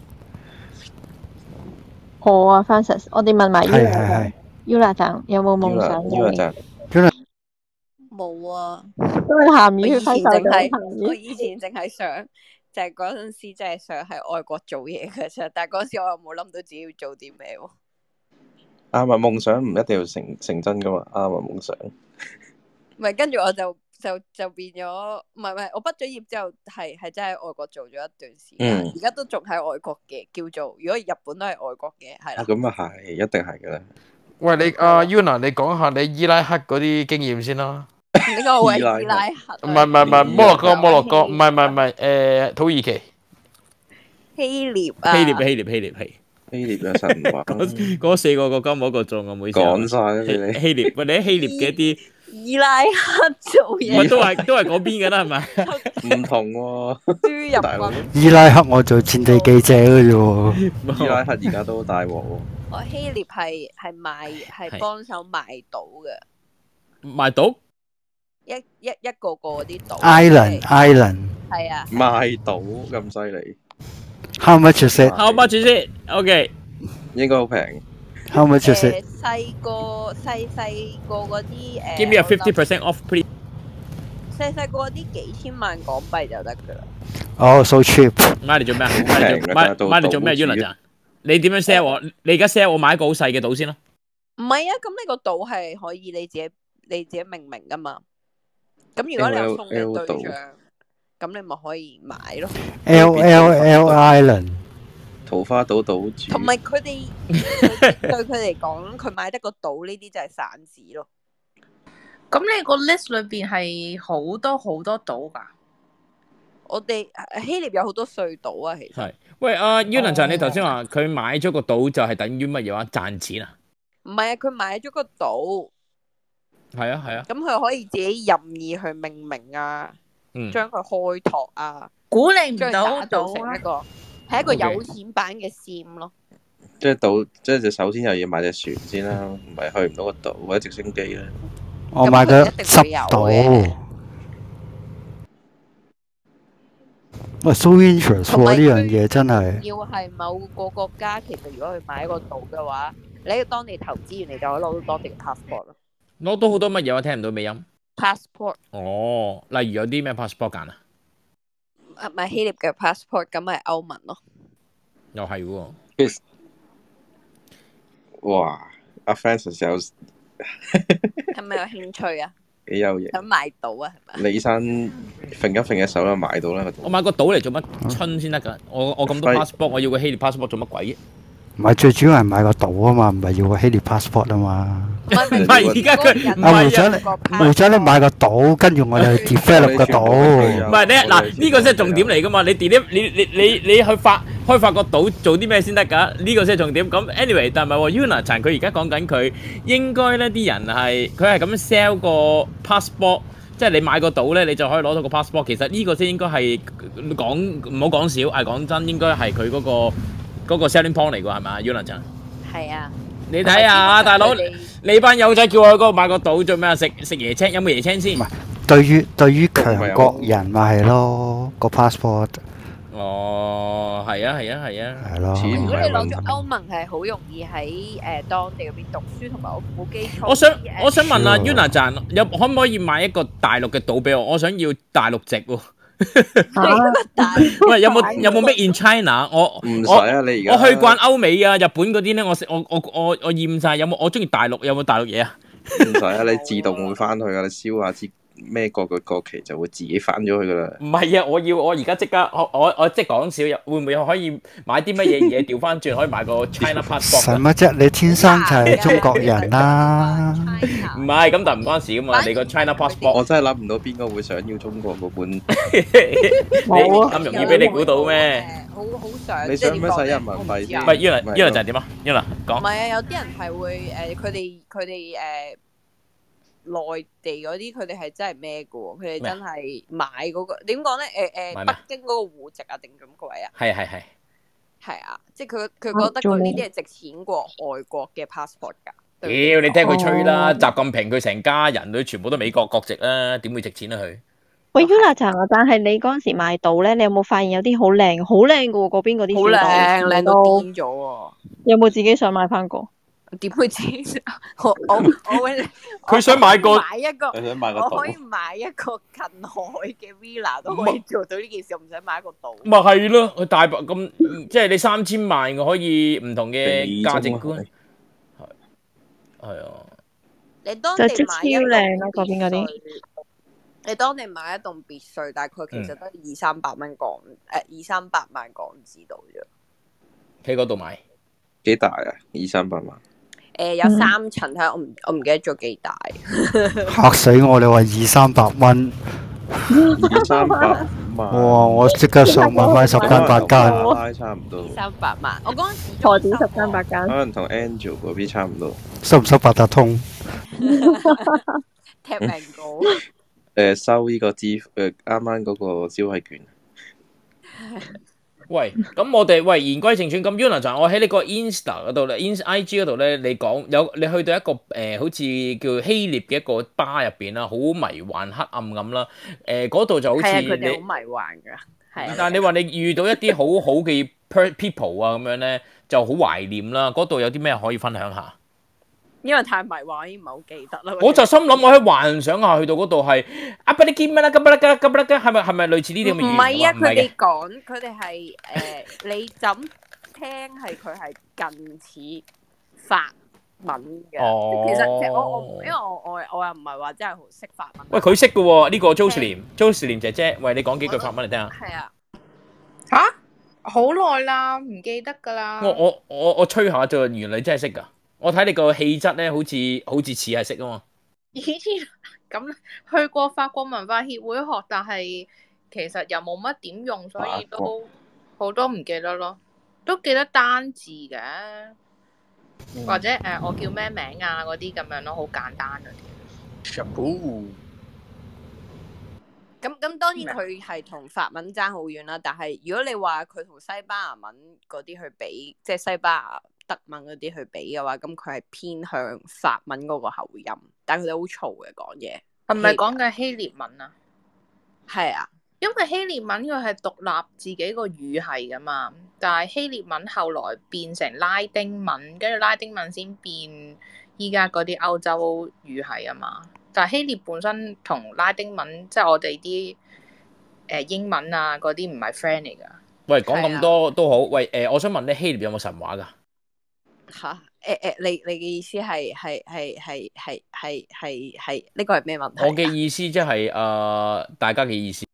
我啊，Francis，我哋問埋係 Yula 係係。 Yula 站有冇夢 Yula 想 Yula 嘅？ 站冇啊！ 因為鹹魚我以前揮手就淨係鹹魚。 我以前淨係想，就係嗰陣時淨係想喺外國做嘢嘅啫。但係嗰陣時我又冇諗到自己要做啲咩喎。 啱啊！夢想唔一定要成成真噶嘛，啱啊！夢想唔係，跟住我就就就變咗，唔係唔係，我畢咗業之後係係真係喺外國做咗一段時間， 嗯而家都仲喺外國嘅，叫做如果日本都係外國嘅，係啊， 啦。 咁啊係，一定係噶啦。 喂，你阿 Yuna，你講下你伊拉克嗰啲經驗先啦。 呢個位伊拉克伊拉克唔係唔係唔係伊拉克摩洛哥摩洛哥，唔係唔係唔係誒土耳其希臘啊， 希臘希臘希臘係希臘嘅神話嗰嗰四個國家冇一個中啊，唔好意思啊。 講晒啦，俾你希希臘，喂你喺希臘嘅一啲， 伊拉克做喂嘢都係都係嗰邊嘅啦，係咪？ 唔同喎。 輸入大佬軍。 伊拉克我做戰地記者嘅啫喎。 伊拉克而家都大鑊喎。 我希臘係係賣係幫手賣島嘅， 賣島一一一個個嗰啲島。 Island Island。 係啊。 賣島咁犀利， How much is it? How much is it? OK， 應該好平。 How much is 誒 it? 細個細細個嗰啲誒 give me a 我諗 fifty percent off please。 細細個嗰啲幾千萬港幣就得㗎啦。 哦，so cheap。 買嚟做咩啊？買嚟做買買嚟做咩 Yuna 咋？你點樣 sell 我？你而家 sell 我買一個好細嘅島先啦。 唔係啊，咁你個島係可以你自己你自己命名㗎嘛。咁如果你有送嘅對象，咁你咪可以買咯。 L L L Island。 桃花島島主。 同埋佢哋對佢嚟講，佢買得個島呢啲就係散紙咯。 咁你個 list 裏邊係好多好多島㗎？ 我哋希臘有好多隧道啊，其實。 係，喂，阿 Yuna 就你頭先話佢買咗個島就係等於乜嘢話賺錢啊？ 唔係啊，佢買咗個島， 係啊係啊， 咁佢可以自己任意去命名啊， 嗯， 將佢開拓啊， 估你唔將佢到打造成島啊！ 一個係一個 OK 有錢版嘅 Sim 咯。 即係島，即係就首先又要買隻船先啦，唔係去唔到個島或者直升機啦。 我買咗十島。喂，so interest 喎，呢樣嘢真係。 要係某個國家，其實如果佢買一個島嘅話，你喺當地投資完，你就可以攞到當地嘅 passport 咯。 攞到好多乜嘢？我聽唔到尾音。 passport 哦，例如有啲咩 passport 揀啊？ 啊，唔係希臘嘅 passport，咁咪歐盟咯。 又係喎。 其實，哇！阿 Francis 有係咪有興趣啊？ 幾有型。 想買島啊？係咪？ 李生揈一揈隻手就買到啦。 我買個島嚟做乜春先得㗎？我我咁多 passport，我要個希臘 passport 做乜鬼啫？ 唔係最主要係買個島啊嘛，唔係要個希臘 passport 啊嘛。 唔係唔係而家佢唔啊，會係長你會長你買個島，跟住我哋去 develop 個唔島。 係你嗱呢個先係重點嚟㗎嘛？你 delete 你你你你去發開發個島做啲咩先得㗎？呢個先係重點。咁 anyway，但係唔係喎 Yuna 陳佢而家講緊佢應該咧啲人係佢係咁樣 sell 個 passport。即係你買個島咧，你就可以攞到個 passport。其實呢個先應該係講唔好講少，係講真，應該係佢嗰個嗰個 selling point 嚟㗎，係咪啊 Yuna 陳？ 係啊。 你睇下啊，大佬，你班友仔叫我去嗰度買個島做咩啊？食食椰青，有冇椰青先？ 對於對於強國人咪係咯個 passport。 哦，係啊，係啊，係啊。 係咯。 如果你攞咗歐盟係好容易喺誒當地嗰邊讀書，同埋我冇基礎。 我想我想問啊 Yuna 站有可唔可以買一個大陸嘅島俾我？我想要大陸籍喎。喂，有冇有冇 Made in China？我唔使啊，你而家我去慣歐美啊、日本嗰啲咧，我我我我我厭晒。有冇我中意大陸？有冇大陸嘢啊？ 唔使啊，你自動會翻去噶，你燒下支咩國嘅國旗就會自己翻咗去噶啦。 唔係啊，我要我而家即刻，我我我即係講笑，會唔會可以買啲乜嘢嘢調翻轉，可以買個 China passport？ 使乜啫？你天生就係中國人啦。 唔係咁，但唔關事噶嘛。你個 China passport， 我真係諗唔到邊個會想要中國嗰本。 你咁容易俾你估到咩？ 好好想。 你想唔想使人民幣先？ 唔係 Yuna，Yuna 就係點啊 ？Yuna 講。 唔係啊，有啲人係會誒，佢哋佢哋誒內地嗰啲，佢哋係真係咩嘅喎？佢哋真係買嗰個點講咧？誒誒，北京嗰個戶籍啊，定咁個位啊？ 係係係。 係啊，即係佢佢覺得佢呢啲係值錢過外國嘅 passport 㗎。 屌，你聽佢吹啦！習近平佢成家人佢全部都美國國籍啦，點會值錢啊佢？ 喂 Yuna 啊，但係你嗰陣時買到咧，你有冇發現有啲好靚好靚嘅喎？嗰邊嗰啲好靚，靚到癲咗喎！ 有冇自己想買翻個？ 點會自己？我我我會佢想買個買一個， 佢想買個我可以買一個近海嘅 villa 都可以做到呢件事，我唔使買一個島。 咪係咯，佢大白咁，即係你三千萬，我可以唔同嘅價值觀。係係啊！ 你當地買一超靚啦，嗰邊嗰啲。 你當地買一棟別墅，大概其實都二三百蚊港，誒二三百萬港紙度啫。 喺嗰度買幾大啊？二三百萬。 誒有三層，睇下我唔我唔記得咗幾大。 嚇死我！你話二三百蚊， 二三百萬。 哇！我即刻上網買十間八間。 拉差唔多。 三百萬，我嗰陣時何止十間八間？ 可能同 Angel 嗰邊差唔多。 收唔收八達通？ 踢命稿。 誒收呢個支誒啱啱嗰個消費券。 喂，咁我哋喂言歸正傳，咁 Yuna 就我喺呢個 Insta 嗰度咧 ，Ins I G 嗰度咧，你講有你去到一個誒、呃、好似叫希臘嘅一個巴入邊啦，好迷幻黑暗咁啦，誒嗰度就好似係啊，佢哋好迷幻㗎，係啊。 但係你話你遇到一啲好好嘅 people 啊咁樣咧，就好懷念啦。嗰度有啲咩可以分享下？ 因為太迷幻，已經唔係好記得啦。 我就心諗，我喺幻想下去到嗰度係啊，不你見乜啦？咁啦，咁啦，咁係咪係咪類似呢啲咁嘅語言？ 唔係啊， 唔佢哋講，佢哋係誒，你怎聽係佢係近似法文嘅。 哦， 其實其實我我因為我我我又唔係話真係好識法文。 喂，佢識嘅喎，呢個 Jocelyn，Jocelyn 姐姐，喂，你講幾句法文嚟聽下。 係啊。 吓？好耐啦，唔記得㗎啦。 我我我我吹下啫，原來你真係識㗎。我睇你個氣質咧，好似好似似係識啊嘛。 以前咁去過法國文化協會學，但係其實又冇乜點用，所以都好多唔記得咯。都記得單字嘅，嗯、或者誒、呃、我叫咩名啊嗰啲咁樣咯，好簡單嗰啲。 Shampoo。 咁咁當然佢係同法文爭好遠啦，但係如果你話佢同西班牙文嗰啲去比，即係西班牙德文嗰啲去比嘅話，咁佢係偏向法文嗰個口音，但係佢哋好嘈嘅講嘢。 係咪講緊希臘文啊？ 係啊， 因為希臘文佢係獨立自己個語系噶嘛，但係希臘文後來變成拉丁文，跟住拉丁文先變依家嗰啲歐洲語系啊嘛。但係希臘本身同拉丁文，即係我哋啲誒英文啊嗰啲唔係 friend 嚟噶。 喂，講咁多都好。喂，誒，我想問咧，希臘有冇神話噶？ 吓，誒誒，你你嘅意思係係係係係係係係呢個係咩問題？ 我嘅意思即係誒，大家嘅意思。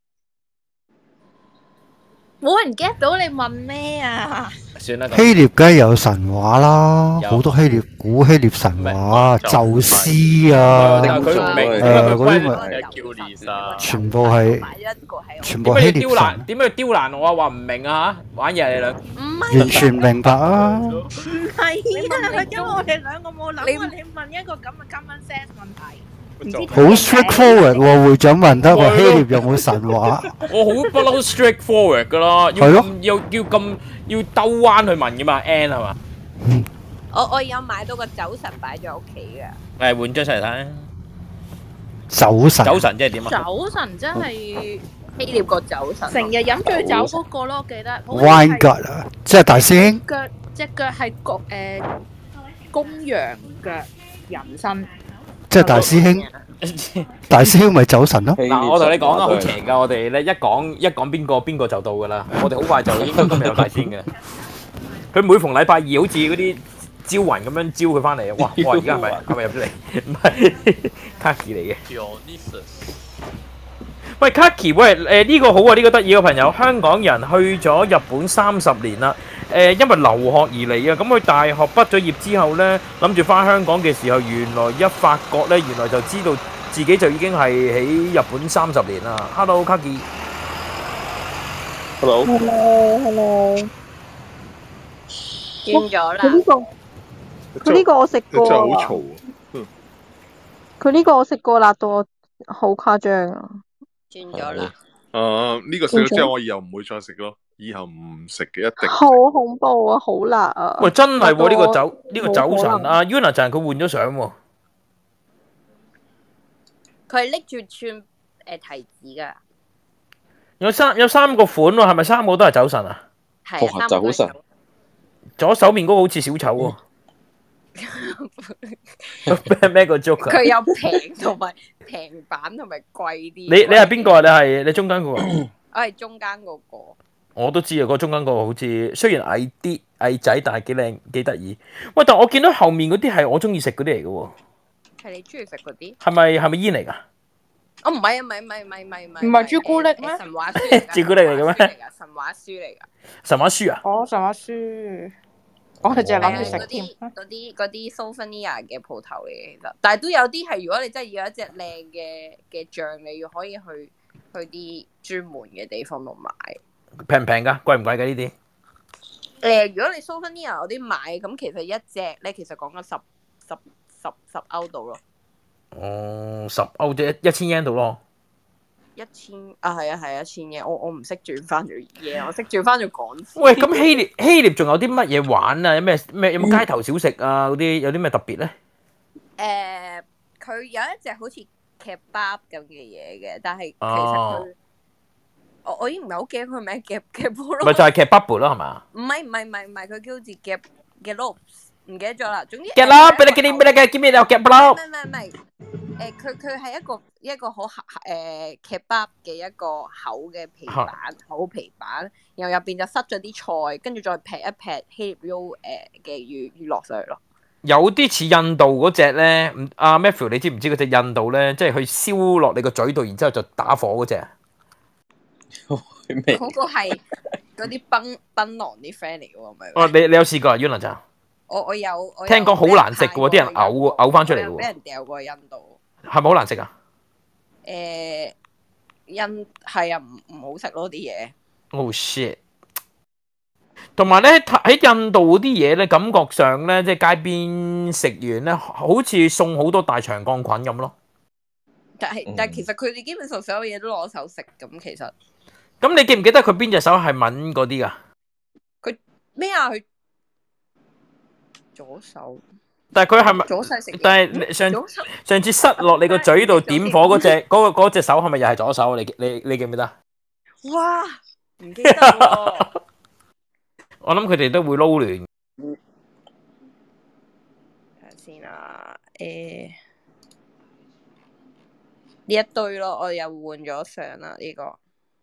冇人 get 到你問咩啊？ 算啦。 希臘梗係有神話啦，好多希臘古希臘神話，宙斯啊，誒嗰啲咪全部係全部希臘神。 點解要刁難我啊？話唔明啊嚇，玩嘢你兩。 完全明白啊！ 唔係啊，因為我哋兩個冇諗過你問一個咁嘅 common sense 問題。 好 straightforward 喎，會長問得話希臘有冇神話？ 我好不嬲 straightforward 噶啦，要要要咁要兜彎去問噶嘛 ，N 係嘛？ 我我有買到個酒神擺咗屋企嘅。 誒，換張出嚟睇。 酒神。 酒神即係點啊？ 酒神真係希臘個酒神， 成日飲醉酒嗰個咯，我記得。 Wine God 啊，即係大師兄。 腳隻腳係公誒公羊腳人身。 即係大師兄，大師兄咪酒神咯。 嗱，我同你講啊，好邪噶！我哋咧一講一講邊個邊個就到噶啦。我哋好快就應該今日有大天嘅。佢每逢禮拜二好似嗰啲招魂咁樣招佢翻嚟。哇！哇！而家係咪係咪入咗嚟？唔係，Kaki 嚟嘅。喂，Kaki，喂，誒呢個好啊，呢個得意嘅朋友，香港人去咗日本三十年啦。誒，因為留學而嚟啊，咁佢大學畢咗業之後咧，諗住翻香港嘅時候，原來一發覺咧，原來就知道自己就已經係喺日本三十年啦。Hello，Kaki。 Hello。 Hello，Hello。 轉咗啦。 佢呢個佢呢個我食過真係好啊。 嘈啊！嗯佢呢個我食過，辣到我好誇張啊！ 轉咗啦。 啊，呢個食咗之後，我以後唔會再食咯。以後唔食嘅，一定唔食。 好恐怖啊！好辣啊！ 喂，真係喎！呢個辣到酒呢個冇可酒神能啊 Yuna 就係佢換咗相喎。 佢係拎住串誒提子㗎。 有三有三個款喎，係咪三個都係酒神啊？ 係啊，三個都係酒。 左手面嗰個好似小丑喎。咩咩個 joke 啊？ 佢有平同埋平版同埋貴啲。 你你係邊個啊？你係你中間嗰個？ 我係中間嗰個。 我都知啊，個中間嗰個好似雖然矮啲矮仔，但係幾靚幾得意。喂，但我見到後面嗰啲係我中意食嗰啲嚟嘅喎。 係你中意食嗰啲？ 係咪係咪煙嚟㗎？ 哦，唔係啊，唔係唔係唔係唔係唔係。 唔係朱古力咩？ 神話書嚟㗎。 朱古力嚟嘅咩？ 神話書嚟㗎。 神話書啊？ 哦，神話書。我係淨係諗住食添。 嗰啲嗰啲 souvenir 嘅鋪頭嚟嘅，其實，但係都有啲係，如果你真係要一隻靚嘅嘅醬，你要可以去去啲專門嘅地方度買。 平唔平㗎？貴唔貴㗎呢啲？ 誒，如果你 souvenir 嗰啲買，咁其實一隻咧，其實講緊十十十十歐度咯。 哦，十歐即係一千 yen 度咯。 一千啊，係啊係啊，一千嘢，我我唔識轉翻做嘢，我識轉翻做港紙。 喂，咁希臘希臘仲有啲乜嘢玩啊？有咩咩有冇街頭小食啊？嗰啲有啲咩特別咧？ 誒，佢有一隻好似 kebab 咁嘅嘢嘅，但係其實哦佢我我已經唔係好記得佢名夾夾波咯。 咪就係 kebab 咯，係嘛？ 唔係唔係唔係唔係，佢叫好似夾嘅 lobs，唔記得咗啦。總之夾啦，俾你俾你俾你嘅，見咩有夾咯唔？係唔係唔係，誒佢佢係一個一個好誒 kebab 嘅一個厚嘅皮板，厚皮板，然後入邊就塞咗啲菜，跟住再劈一劈希臘 roll 誒嘅魚魚落上去咯。 有啲似印度嗰只咧，唔阿 Matthew 你知唔知嗰隻印度咧，即係佢燒落你個嘴度，然之後就打火嗰只啊？ 嗰個係嗰啲檳檳榔啲 friend 嚟嘅喎，咪？ 哦，你你有試過啊 Yuna 就？ 我我有，我有聽講好難食嘅喎，啲人嘔嘔翻出嚟嘅喎， 俾人掉過印度。 係咪好難食啊？ 誒，印係啊，唔唔好食咯啲嘢。 Oh shit！同埋咧喺印度嗰啲嘢咧，感覺上咧即係街邊食完咧，好似送好多大腸桿菌咁咯。 但係但係其實佢哋基本上所有嘢都攞手食咁，其實。 咁你記唔記得佢邊隻手係吻嗰啲㗎？ 佢咩啊？佢左手。 但係佢係咪？ 左手食。 但係上上次塞落你個嘴度點火嗰隻嗰個嗰隻手係咪又係左手？你你你記唔記得？ 哇！唔記得喎。 我諗佢哋都會撈亂。 睇下先啊，誒呢一堆咯，我又換咗相啦呢個。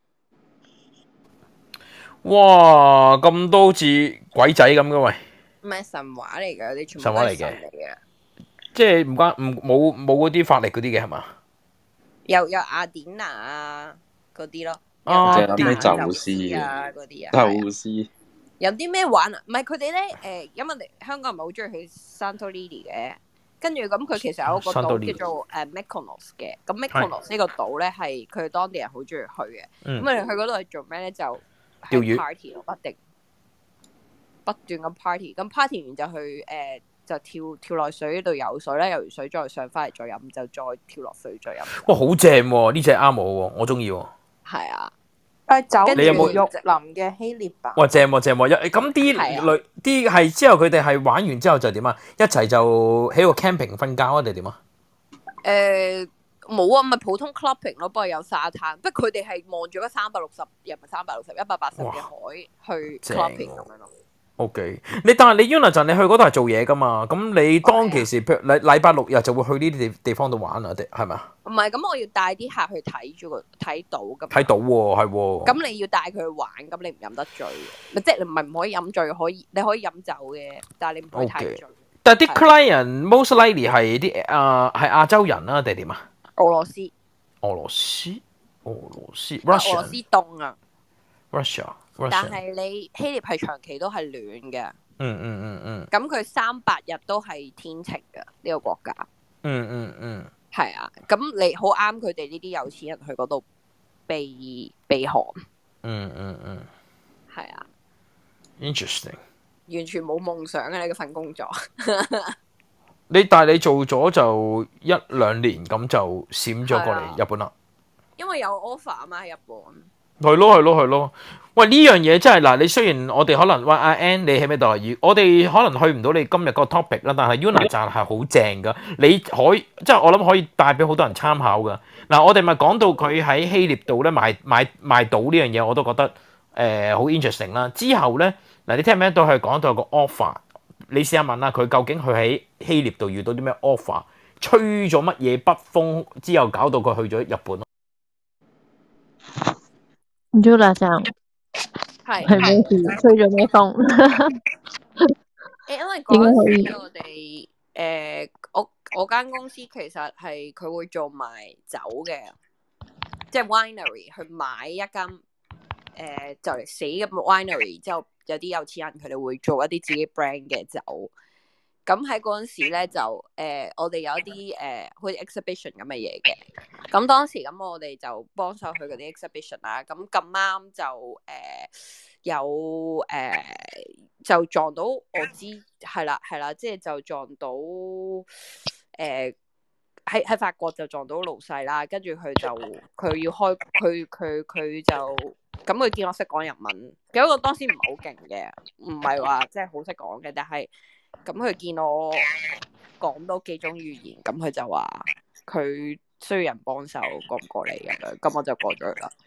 哇！咁多好似鬼仔咁嘅喂。 唔係神話嚟嘅，啲全部神話嚟嘅，即係唔關唔冇冇嗰啲法力嗰啲嘅係嘛？ 有有雅典娜啊嗰啲咯， 啊， 淨係諗起宙斯啊嗰啲啊， 宙斯。 有啲咩玩啊？唔係佢哋咧誒，因為我哋香港人唔係好中意去 Santorini 嘅，跟住咁佢其實有個島叫做誒 Mykonos 嘅，咁 Mykonos 呢個島咧係佢當地人好中意去嘅，咁我哋去嗰度係做咩咧？就釣魚 party 咯，不定不斷咁 party，咁 party 完就去誒就跳跳落水度游水啦，游完水再上翻嚟再飲，就再跳落水再飲。 哇，好正喎！呢隻啱我喎，我中意喎。 係啊。 誒酒你有冇池肉林嘅希臘版？ 哇，正喎正喎！咁啲類啲係之後佢哋係玩完之後就點啊？一齊就喺個 camping 瞓覺啊定點啊？ 誒冇啊，咪普通 clubbing 咯，不過有沙灘。不過佢哋係望住嗰三百六十，又唔係三百六十，一百八十嘅海去 clubbing 咁樣咯。 O K， 你但係你 Yuna 你去嗰度係做嘢噶嘛？咁你當其時，譬如禮禮拜六日就會去呢啲地地方度玩啊？定係咪啊？ 唔係，咁我要帶啲客去睇住個睇到咁。 睇到喎，係喎。 咁你要帶佢去玩，咁你唔飲得醉嘅，即係你唔係唔可以飲醉，可以你可以飲酒嘅，但係你唔可以太醉。 但係啲 client most likely 係啲誒係亞洲人啊，定係點啊？ 俄羅斯。 俄羅斯，俄羅斯俄羅斯凍啊 ，Russia。 但係你希臘係長期都係暖嘅， 嗯嗯嗯嗯。 咁佢三百日都係天晴嘅呢個國家。 嗯嗯嗯。 係啊，咁你好啱佢哋呢啲有錢人去嗰度避避寒。 嗯嗯嗯係啊， ，interesting。 完全冇夢想嘅呢個份工作。 你但係你做咗就一兩年咁就閃咗過係啊嚟日本啦。 因為有 offer 啊嘛喺日本。 係咯係咯係咯，喂呢樣嘢真係嗱，你雖然我哋可能喂阿 Ann 你喺咩度？如我哋可能去唔到你今日個 topic 啦，但係 Yuna 站係好正噶，你可以即係我諗可以帶俾好多人參考噶。嗱，我哋咪講到佢喺希臘度咧賣賣賣島呢樣嘢，我都覺得誒好 interesting 啦。之後咧嗱，你聽唔聽到佢講到有個 offer？你試下問下佢究竟佢喺希臘度遇到啲咩 offer， 吹咗乜嘢北風之後搞到佢去咗日本咯。 Yuna 站係係咩事？吹咗咩風？ 誒，因為點嗰解可以陣時我哋誒我我間公司其實係佢會做埋酒嘅，即係 winery 去買一間誒、呃、就嚟死嘅 winery， 之後有啲有錢人佢哋會做一啲自己 brand 嘅酒。咁喺嗰陣時咧就誒、呃、我哋有一啲誒好似 exhibition 咁嘅嘢嘅。咁當時咁我哋就幫手去嗰啲 exhibition 啦。咁咁啱就誒、呃、有誒、呃、就撞到我知係啦係啦，即係就撞到誒喺喺法國就撞到老細啦。跟住佢就佢要開佢佢佢就咁佢見我識講日文，其實我當時唔係好勁嘅，唔係話即係好識講嘅，但係。咁佢見我講多幾種語言，咁佢就話佢需要人幫手，過唔過嚟咁樣，咁我就過咗去啦。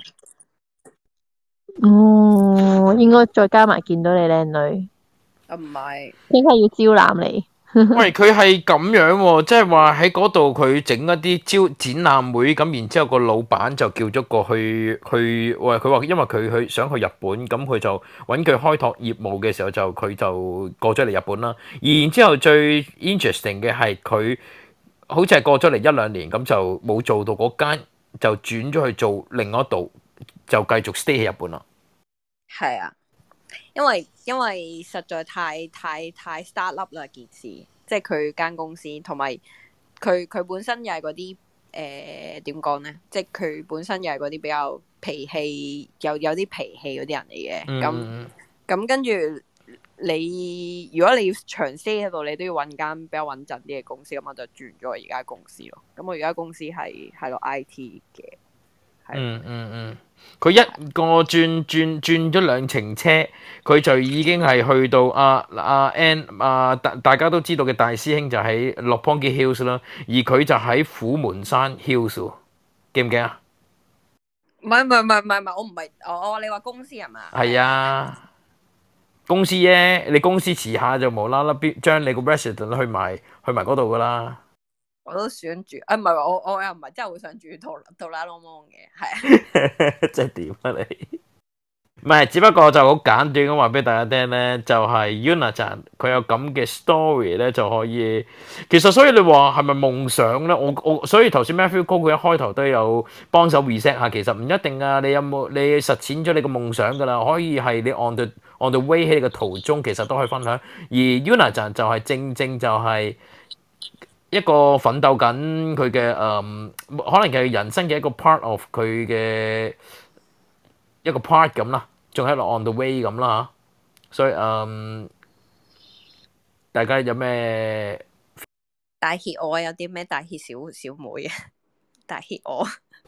哦，應該再加埋見到你靚女， 啊唔係， 應該要招攬你。 喂，佢係咁樣喎，即係話喺嗰度佢整一啲招展覽會，咁然之後個老闆就叫咗過去去，喂佢話因為佢去想去日本，咁佢就揾佢開拓業務嘅時候就佢就過咗嚟日本啦。然之後最 interesting 嘅係佢好似係過咗嚟一兩年，咁就冇做到嗰間，就轉咗去做另一度，就繼續 stay 喺日本啦。 係啊，因為因為實在太太太 start up 啦件事，即係佢間公司，同埋佢佢本身又係嗰啲誒點講咧，即係佢本身又係嗰啲比較脾氣有有啲脾氣嗰啲人嚟嘅，咁嗯咁跟住你如果你要長 stay 喺度，你都要揾間比較穩陣啲嘅公司，咁我就轉咗我而家公司咯。咁我而家公司係係落 I T 嘅。 嗯嗯嗯，佢一個轉轉轉咗兩程車，佢就已經係去到阿阿 N 啊大大家都知道嘅大師兄就喺六邦基 Hills 啦，而佢就喺虎門山 Hills 喎，記唔記啊？ 唔係唔係唔係唔係唔係，我唔係我我你話公司係嘛？ 係啊，公司啫，你公司遲下就無啦啦邊將你個 resident 去埋去埋嗰度噶啦。 我都想住，啊唔係話我我又唔係真係好想住杜杜拉隆芒嘅，係啊。 即係點啊你？唔係，只不過就好簡短咁話俾大家聽咧，就係 Yuna 站佢有咁嘅 story 咧，就可以。其實所以你話係咪夢想咧？我我所以頭先 Matthew 哥佢一開頭都有幫手 reset 下，其實唔一定啊。你有冇你實踐咗你個夢想㗎啦？可以係你 on the on the way 喺你個途中，其實都可以分享。而 Yuna 站就係正正就係一個奮鬥緊佢嘅誒，可能係人生嘅一個 part of 佢嘅。一個 part 咁啦，仲喺度 on the way 咁啦嚇，所以嗯，大家有咩大協我有啲咩大協小小妹啊？大協我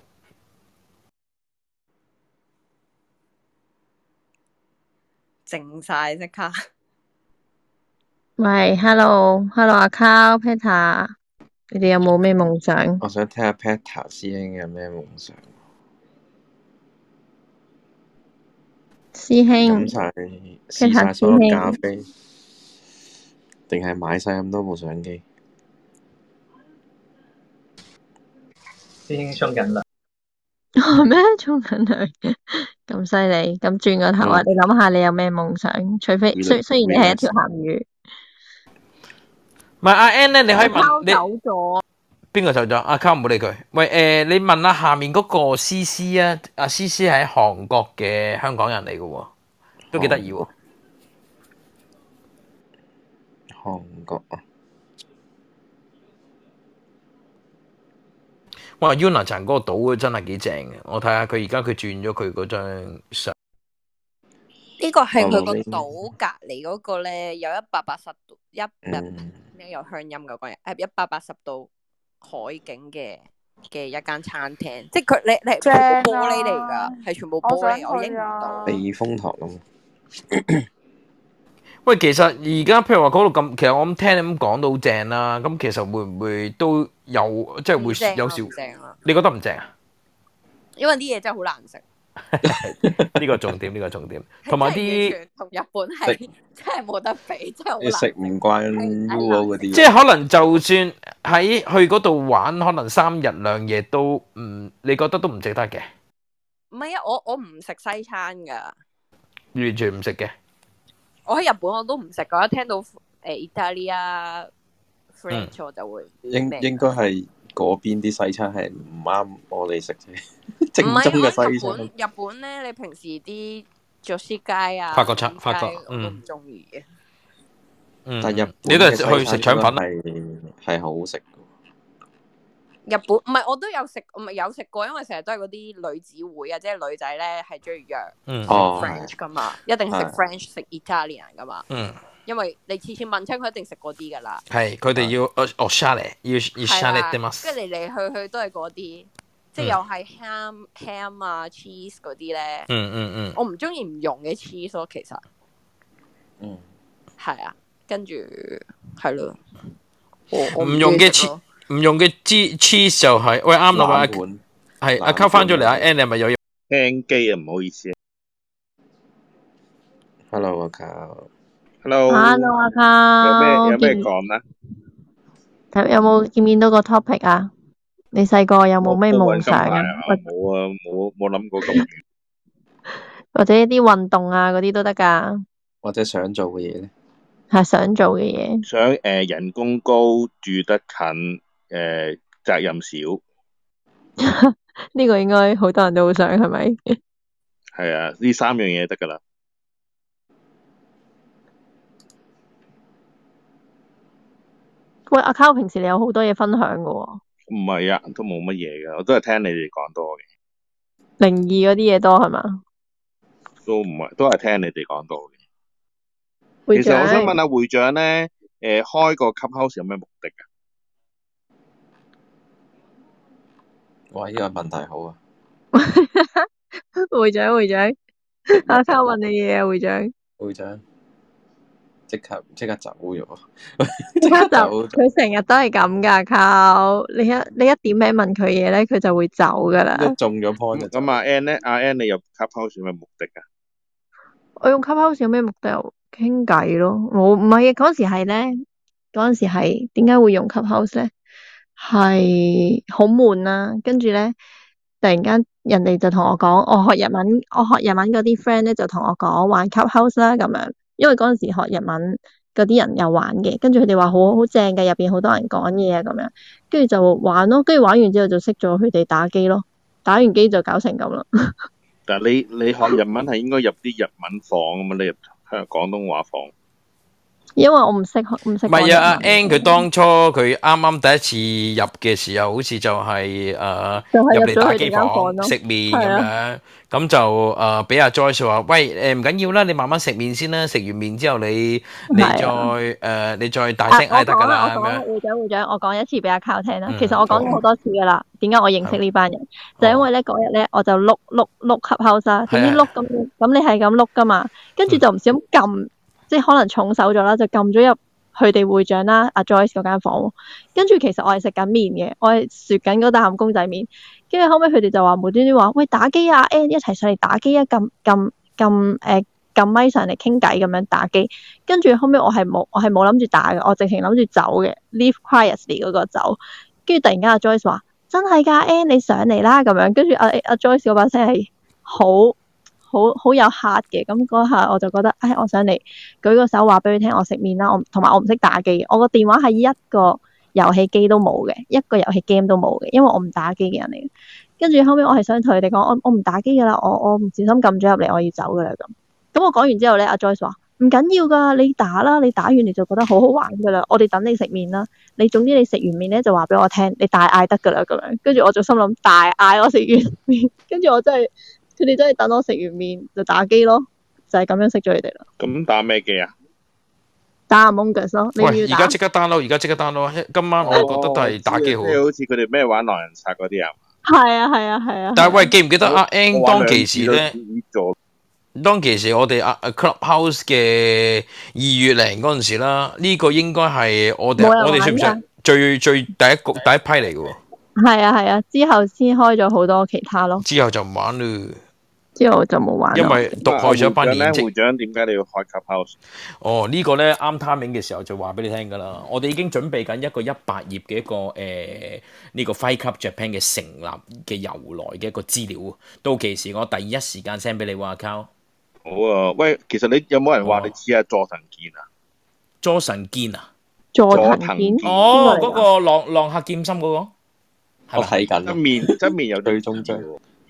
靜晒即刻。 喂，hello，hello 阿 Carl、Peter，你哋有冇咩夢想？ 我想聽下 Peter 師兄有咩夢想？ 師兄飲晒試晒 ，Peter 所有師兄， 咖啡，定係買晒咁多部相機？ 師兄沖緊涼。 咩沖緊涼？咁犀利，咁轉個頭啊！ 嗯你諗下，你有咩夢想？除非雖雖然你係一條鹹魚， 唔係阿 Ann 咧，你可以問拋你走咗。 邊個走咗？阿 Carl 唔好理佢。喂誒，你問下下面嗰個 C C 啊，阿 C C 係韓國嘅香港人嚟嘅喎，都幾得意喎。 韓國啊！ 哇 Yunnan 嗰個島真係幾正嘅，我睇下佢而家佢轉咗佢嗰張相。 呢個係佢個島隔離嗰個咧，有一百八十度一日咩有鄉音嘅嗰日，誒一百八十度海景嘅嘅一間餐廳，即係佢你你係全部玻璃嚟㗎，係全部玻璃，我影唔到。 避風塘咁。 喂，其實而家譬如話嗰度咁，其實我咁聽你咁講都好正啦。咁其實會唔會都有即係會有少？你覺得唔正啊？ 因為啲嘢真係好難食。 呢個重點，呢個重點，同埋啲同日本係真係冇得比，真係好難食唔慣 U O 嗰啲。 即係可能就算喺去嗰度玩，可能三日兩夜都唔，你覺得都唔值得嘅。 唔係啊，我我唔食西餐㗎， 完全唔食嘅。 我喺日本我都唔食㗎，一聽到誒意大利啊 French 我就會應應該係嗰邊啲西餐係唔啱我哋食啫。正宗嘅西餐。 日本日本咧，你平時啲佐司街啊、 法國餐、法國我都唔中意嘅。 嗯， 但日本你都係去食腸粉係係好好食。 日本唔係我都有食，唔係有食過，因為成日都係嗰啲女子會啊，即係女仔咧係中意約嗯 French 噶嘛，一定食係 French 食 Italian 噶嘛。 嗯， 因為你次次問親佢一定食嗰啲噶啦。 係佢哋要哦哦 share 要要 share 啲乜？ 跟住嚟嚟去去都係嗰啲，即係又係 ham ham 啊 cheese 嗰啲咧。 嗯嗯嗯。 我唔中意唔用嘅 cheese 咯，其實。 嗯。 係啊，跟住係咯。 唔用嘅 cheese，唔用嘅 cheese 就係喂啱啦，喂係阿溝翻咗嚟，阿 Ann 你係咪有嘢？ 聽機啊，唔好意思。 Hello 阿溝。 Hello。 Hello 阿溝。 有咩有咩講咧？ 睇有冇見唔見到個 topic 啊？你細個有冇咩夢想啊？ 冇啊，冇冇諗過咁遠。 或者一啲運動啊嗰啲都得㗎。 或者想做嘅嘢咧？ 係想做嘅嘢。 想誒、呃、人工高，住得近，誒、呃、責任少。 呢個應該好多人都好想，係咪？ 係啊，呢三樣嘢得㗎啦。 喂，阿 Carl 平時你有好多嘢分享㗎喎。 唔係啊，都冇乜嘢㗎，我都係聽你哋講多嘅。 靈異嗰啲嘢多係嘛？ 都唔係，都係聽你哋講多嘅。 會長， 其實我想問下會長咧，誒、呃、開個 Clubhouse 有咩目的啊？ 哇！呢、這個問題好啊。 會長會長，阿 Carl 問你嘢啊，會長。 會長，即刻即刻走咗。 即刻走，佢成日都係咁㗎，Carl。你一你一點名問佢嘢咧，佢就會走㗎啦。 一中咗 point 就咁阿 Ann 咧，阿 Ann 你入 Clubhouse 有咩目的啊？ 我用 Clubhouse 有咩目的？傾偈咯。我唔係嗰陣時係咧，嗰陣時係點解會用 Clubhouse 咧？係好悶啦，跟住咧突然間人哋就同我講，我學日文，我學日文嗰啲 friend 咧就同我講玩 Clubhouse 啦咁樣，因為嗰陣時學日文嗰啲人有玩嘅，跟住佢哋話好好正嘅，入邊好多人講嘢啊咁樣，跟住就玩咯，跟住玩完之後就識咗佢哋打機咯，打完機就搞成咁啦。 但係你你學日文係應該入啲日文房咁嘛，你入香廣東話房。 因為我唔識唔識。 唔係啊，阿 Ann 佢當初佢啱啱第一次入嘅時候，好似就係誒入嚟打機房食麵咁樣，咁就誒俾阿 Joyce 話：喂誒唔緊要啦，你慢慢食麵先啦，食完麵之後你你再誒你再大聲嗌得㗎啦咁樣。 會長會長，我講一次俾阿 Carl 聽啦。其實我講咗好多次㗎啦。點解我認識呢班人？就因為咧嗰日咧我就碌碌碌 Clubhouse啦，點知碌咁咁你係咁碌㗎嘛？跟住就唔小心撳。即係可能重手咗啦，就撳咗入佢哋會長啦，阿 Joyce 嗰間房。跟住其實我係食緊麵嘅，我係啜緊嗰啖公仔麵。跟住後尾佢哋就話無端端話：喂打機啊 ，Ann 一齊上嚟打機啊！撳撳撳誒撳咪上嚟傾偈咁樣打機。跟住後尾我係冇我係冇諗住打嘅，我直情諗住走嘅 ，leave quietly 嗰個走。跟住突然間阿 Joyce 話：真係㗎 ，Ann 你上嚟啦咁樣。跟住阿阿 Joyce 嗰把聲係好。好好有客嘅，咁嗰下我就覺得，唉，我想嚟舉個手話俾佢聽，我食麵啦，我同埋我唔識打機，我個電話係一個遊戲機都冇嘅，一個遊戲 game 都冇嘅，因為我唔打機嘅人嚟嘅。跟住後尾我係想同佢哋講，我我唔打機噶啦，我我唔小心撳咗入嚟，我要走噶啦咁。咁我講完之後咧，阿 Joyce 話唔緊要㗎，你打啦，你打完你就覺得好好玩㗎啦。我哋等你食麵啦。你總之你食完麵咧就話俾我聽，你大嗌得㗎啦咁樣。跟住我就心諗大嗌我食完麵，跟住我真係佢哋真係等我食完麵就打機咯，就係、是、咁樣識咗你哋啦。 咁打咩機啊？ 打 Among Us 咯，你要喂，而打家即刻 download，而家即刻 download。今晚我覺得都係打機好。 即係好似佢哋咩玩狼人殺嗰啲啊？ 係啊係啊係啊。 但係喂，記唔記得阿 N 我玩當其時咧？ 咗當其時我哋啊 Clubhouse 嘅二月零嗰陣時啦，呢、個應該係我哋冇人我哋算唔算玩㗎最最第一個第一批嚟嘅喎？ 係啊係啊，之後先開咗好多其他咯， 之後就唔玩啦， 之後就冇玩咯。 因為毒害咗一班演職。 會長點解你要開 Clubhouse？ 哦，呢個咧啱 timing 嘅時候就話俾你聽㗎啦。我哋已經準備緊一個一百頁嘅一個誒呢、個 Fight Club Japan 嘅成立嘅由來嘅一個資料。到期時我第一時間 send 俾你喎，account。 好啊，喂，其實你有冇人話你似阿佐藤健啊？ 佐神健啊？ 佐藤藤健哦， 邊個嚟㗎嗰、個浪浪客劍心嗰、個。 我睇緊側面側面有最終章。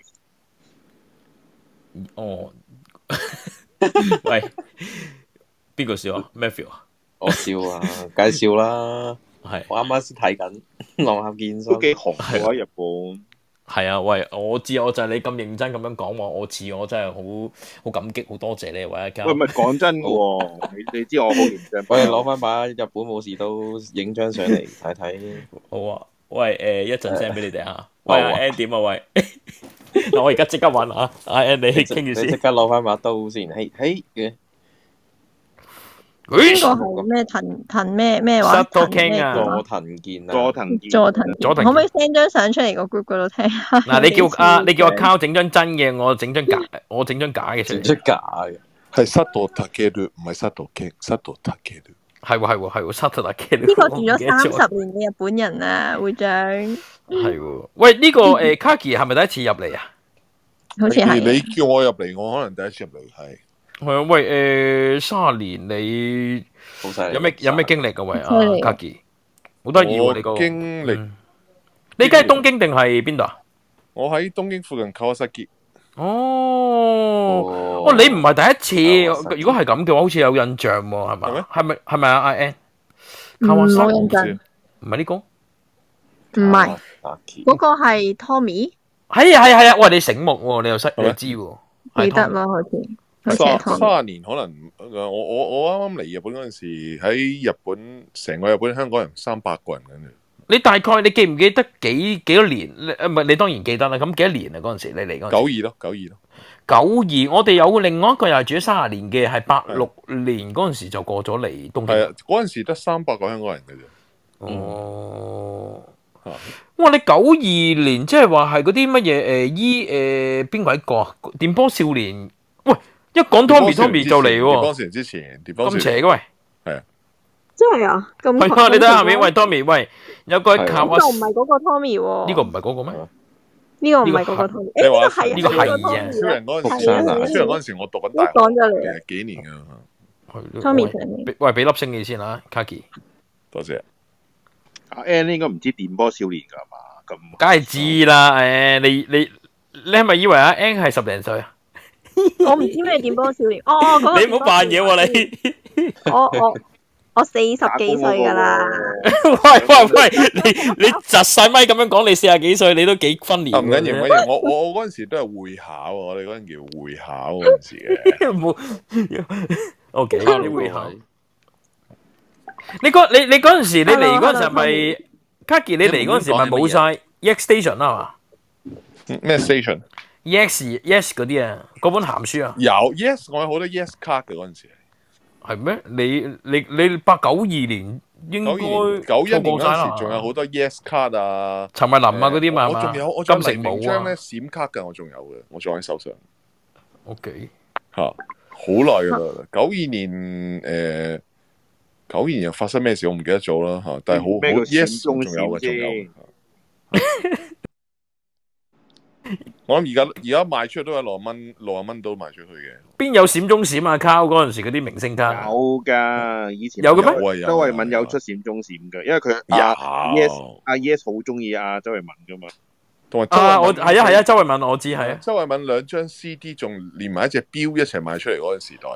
哦，喂，邊個笑啊 ？Matthew 啊？ 我笑啊，介紹啦。 係， 我啱啱先睇緊《浪客劍心》， 都幾紅嘅喺日本。 係啊，喂，我知，我就係你咁認真咁樣講話，我似我真係好好感激，好多謝你，喂，家。 喂，唔係講真嘅喎，你你知我好認真。 我哋攞翻把日本武士刀影張相嚟睇睇。 好啊，喂，誒、一陣 send 俾你哋嚇。 好喂， 啊阿 N 點啊？喂，嗱，我而家即刻揾啊，阿 N 你傾住你即先。 刻攞翻把刀先，嘿嘿嘅。 邊個係咩藤藤咩咩話？ Sato 藤咩 King 啊劍佐藤健啊， 佐藤健， 佐藤佐藤可唔可以 send 張相出嚟個 group 嗰度睇下？ 嗱，你叫幾似啊，你叫阿樣 Cow 整張真嘅，我整張假，我整張假嘅出嚟。 整出假嘅。 係塞道塔嘅略，唔係塞道傾，塞道塔嘅略。 係喎係喎係喎，Sato King。 呢個住咗三十年嘅日本人啊，會長。 係喎，喂，呢、個誒 Kaki 係咪第一次入嚟啊？ 好似係。 你叫我入嚟，我可能第一次入嚟係。 係啊，喂，誒三十年你好犀利有咩有咩經歷㗎？喂，啊犀利 Kaki，好得意喎你個我經歷， 你而家係東京定係邊度啊？ 我喺東京附近川崎。 哦，哦，你唔係第一次，如果係咁嘅話，好似有印象喎，係咪？係咪係咪啊？阿 N， 嗯冇印象。 唔係呢個？ 唔係，嗰個係 Tommy， 係啊係啊係啊！喂，你醒目喎，你又識你知喎，係記得 Tommy 啦，好似好似係三 Tommy。 三十年可能，我我我啱啱嚟日本嗰陣時，喺日本成個日本香港人三百個人咁樣。 你大概你記唔記得幾幾多年？你誒唔係你當然記得啦。咁幾多年啊？嗰陣時你嚟嗰陣時。 九二咯，九二咯。 九二，我哋有另外一個又係住咗三十年嘅，係八六年嗰陣時就過咗嚟東京。 係啊，嗰陣時得三百個香港人嘅啫。 哦。哇！你九二年即係話係嗰啲乜嘢誒依誒邊個一個啊？電波少年，喂！一講 Tommy Tommy 就嚟電波喎。 少年之前，電波少年咁邪嘅喂。 係啊。 真係啊，咁係啊！你睇下面，喂 Tommy，喂有個卡哇呢個唔係嗰個 Tommy 喎。 呢個唔係嗰個咩？ 呢個唔係嗰個 Tommy。 你話誒呢個係啊超人嗰陣時， 係啊超人嗰陣時我讀緊大學， 講咗嚟誒幾年㗎。 係 Tommy 俾喂俾粒星你先啊，Kaki。 多謝。 阿 N 應該唔知電波少年㗎嘛？咁梗係知啦，誒你你你係咪以為阿 N 係十零歲啊？ 我唔知咩電波少年。哦哦，嗰個你唔好扮嘢喎你。 我我我四十幾歲㗎啦。 喂喂喂，你你窒晒咪咁樣講，你四十幾歲你都幾分年。 唔緊要，唔緊要，我我我嗰陣時都係會考，我哋嗰陣叫會考嗰陣時嘅。 冇。O K，你會考。你嗰你你嗰陣時你嚟嗰陣時係咪 Kaki？你嚟嗰陣時咪冇晒 E X Station 啦嘛？ 咩 station？E X Yes 嗰啲啊，嗰本鹹書啊。 有 Yes，我有好多 Yes 卡嘅嗰陣時。 係咩？你你你八九二年應該九一年嗰錯過晒啦陣時，仲有好多 Yes 卡啊， 陳慧琳啊嗰啲嘛係嘛我仲有我仲有金城武啊黎明章咧閃卡㗎，我仲有嘅，我仲喺手上。 O K。 嚇，好耐㗎啦！九二年誒，九二年又發生咩事我唔記得咗啦嚇，但係好好咩叫 Yes 閃中仲有嘅，仲閃有啫。 我諗而家而家賣出去都係六十蚊，六十蚊都賣出去嘅。 邊有閃中閃啊？卡嗰陣時嗰啲明星卡有㗎，以前有嘅咩有啊有啊周慧敏有出閃中閃嘅，因為佢阿 Yes 阿 Yes 好中意阿周慧敏㗎嘛。 同埋周啊！我慧敏係啊係啊，周慧敏我知係啊。 周慧敏兩張 C D 仲連埋一隻錶一齊賣出嚟嗰個時代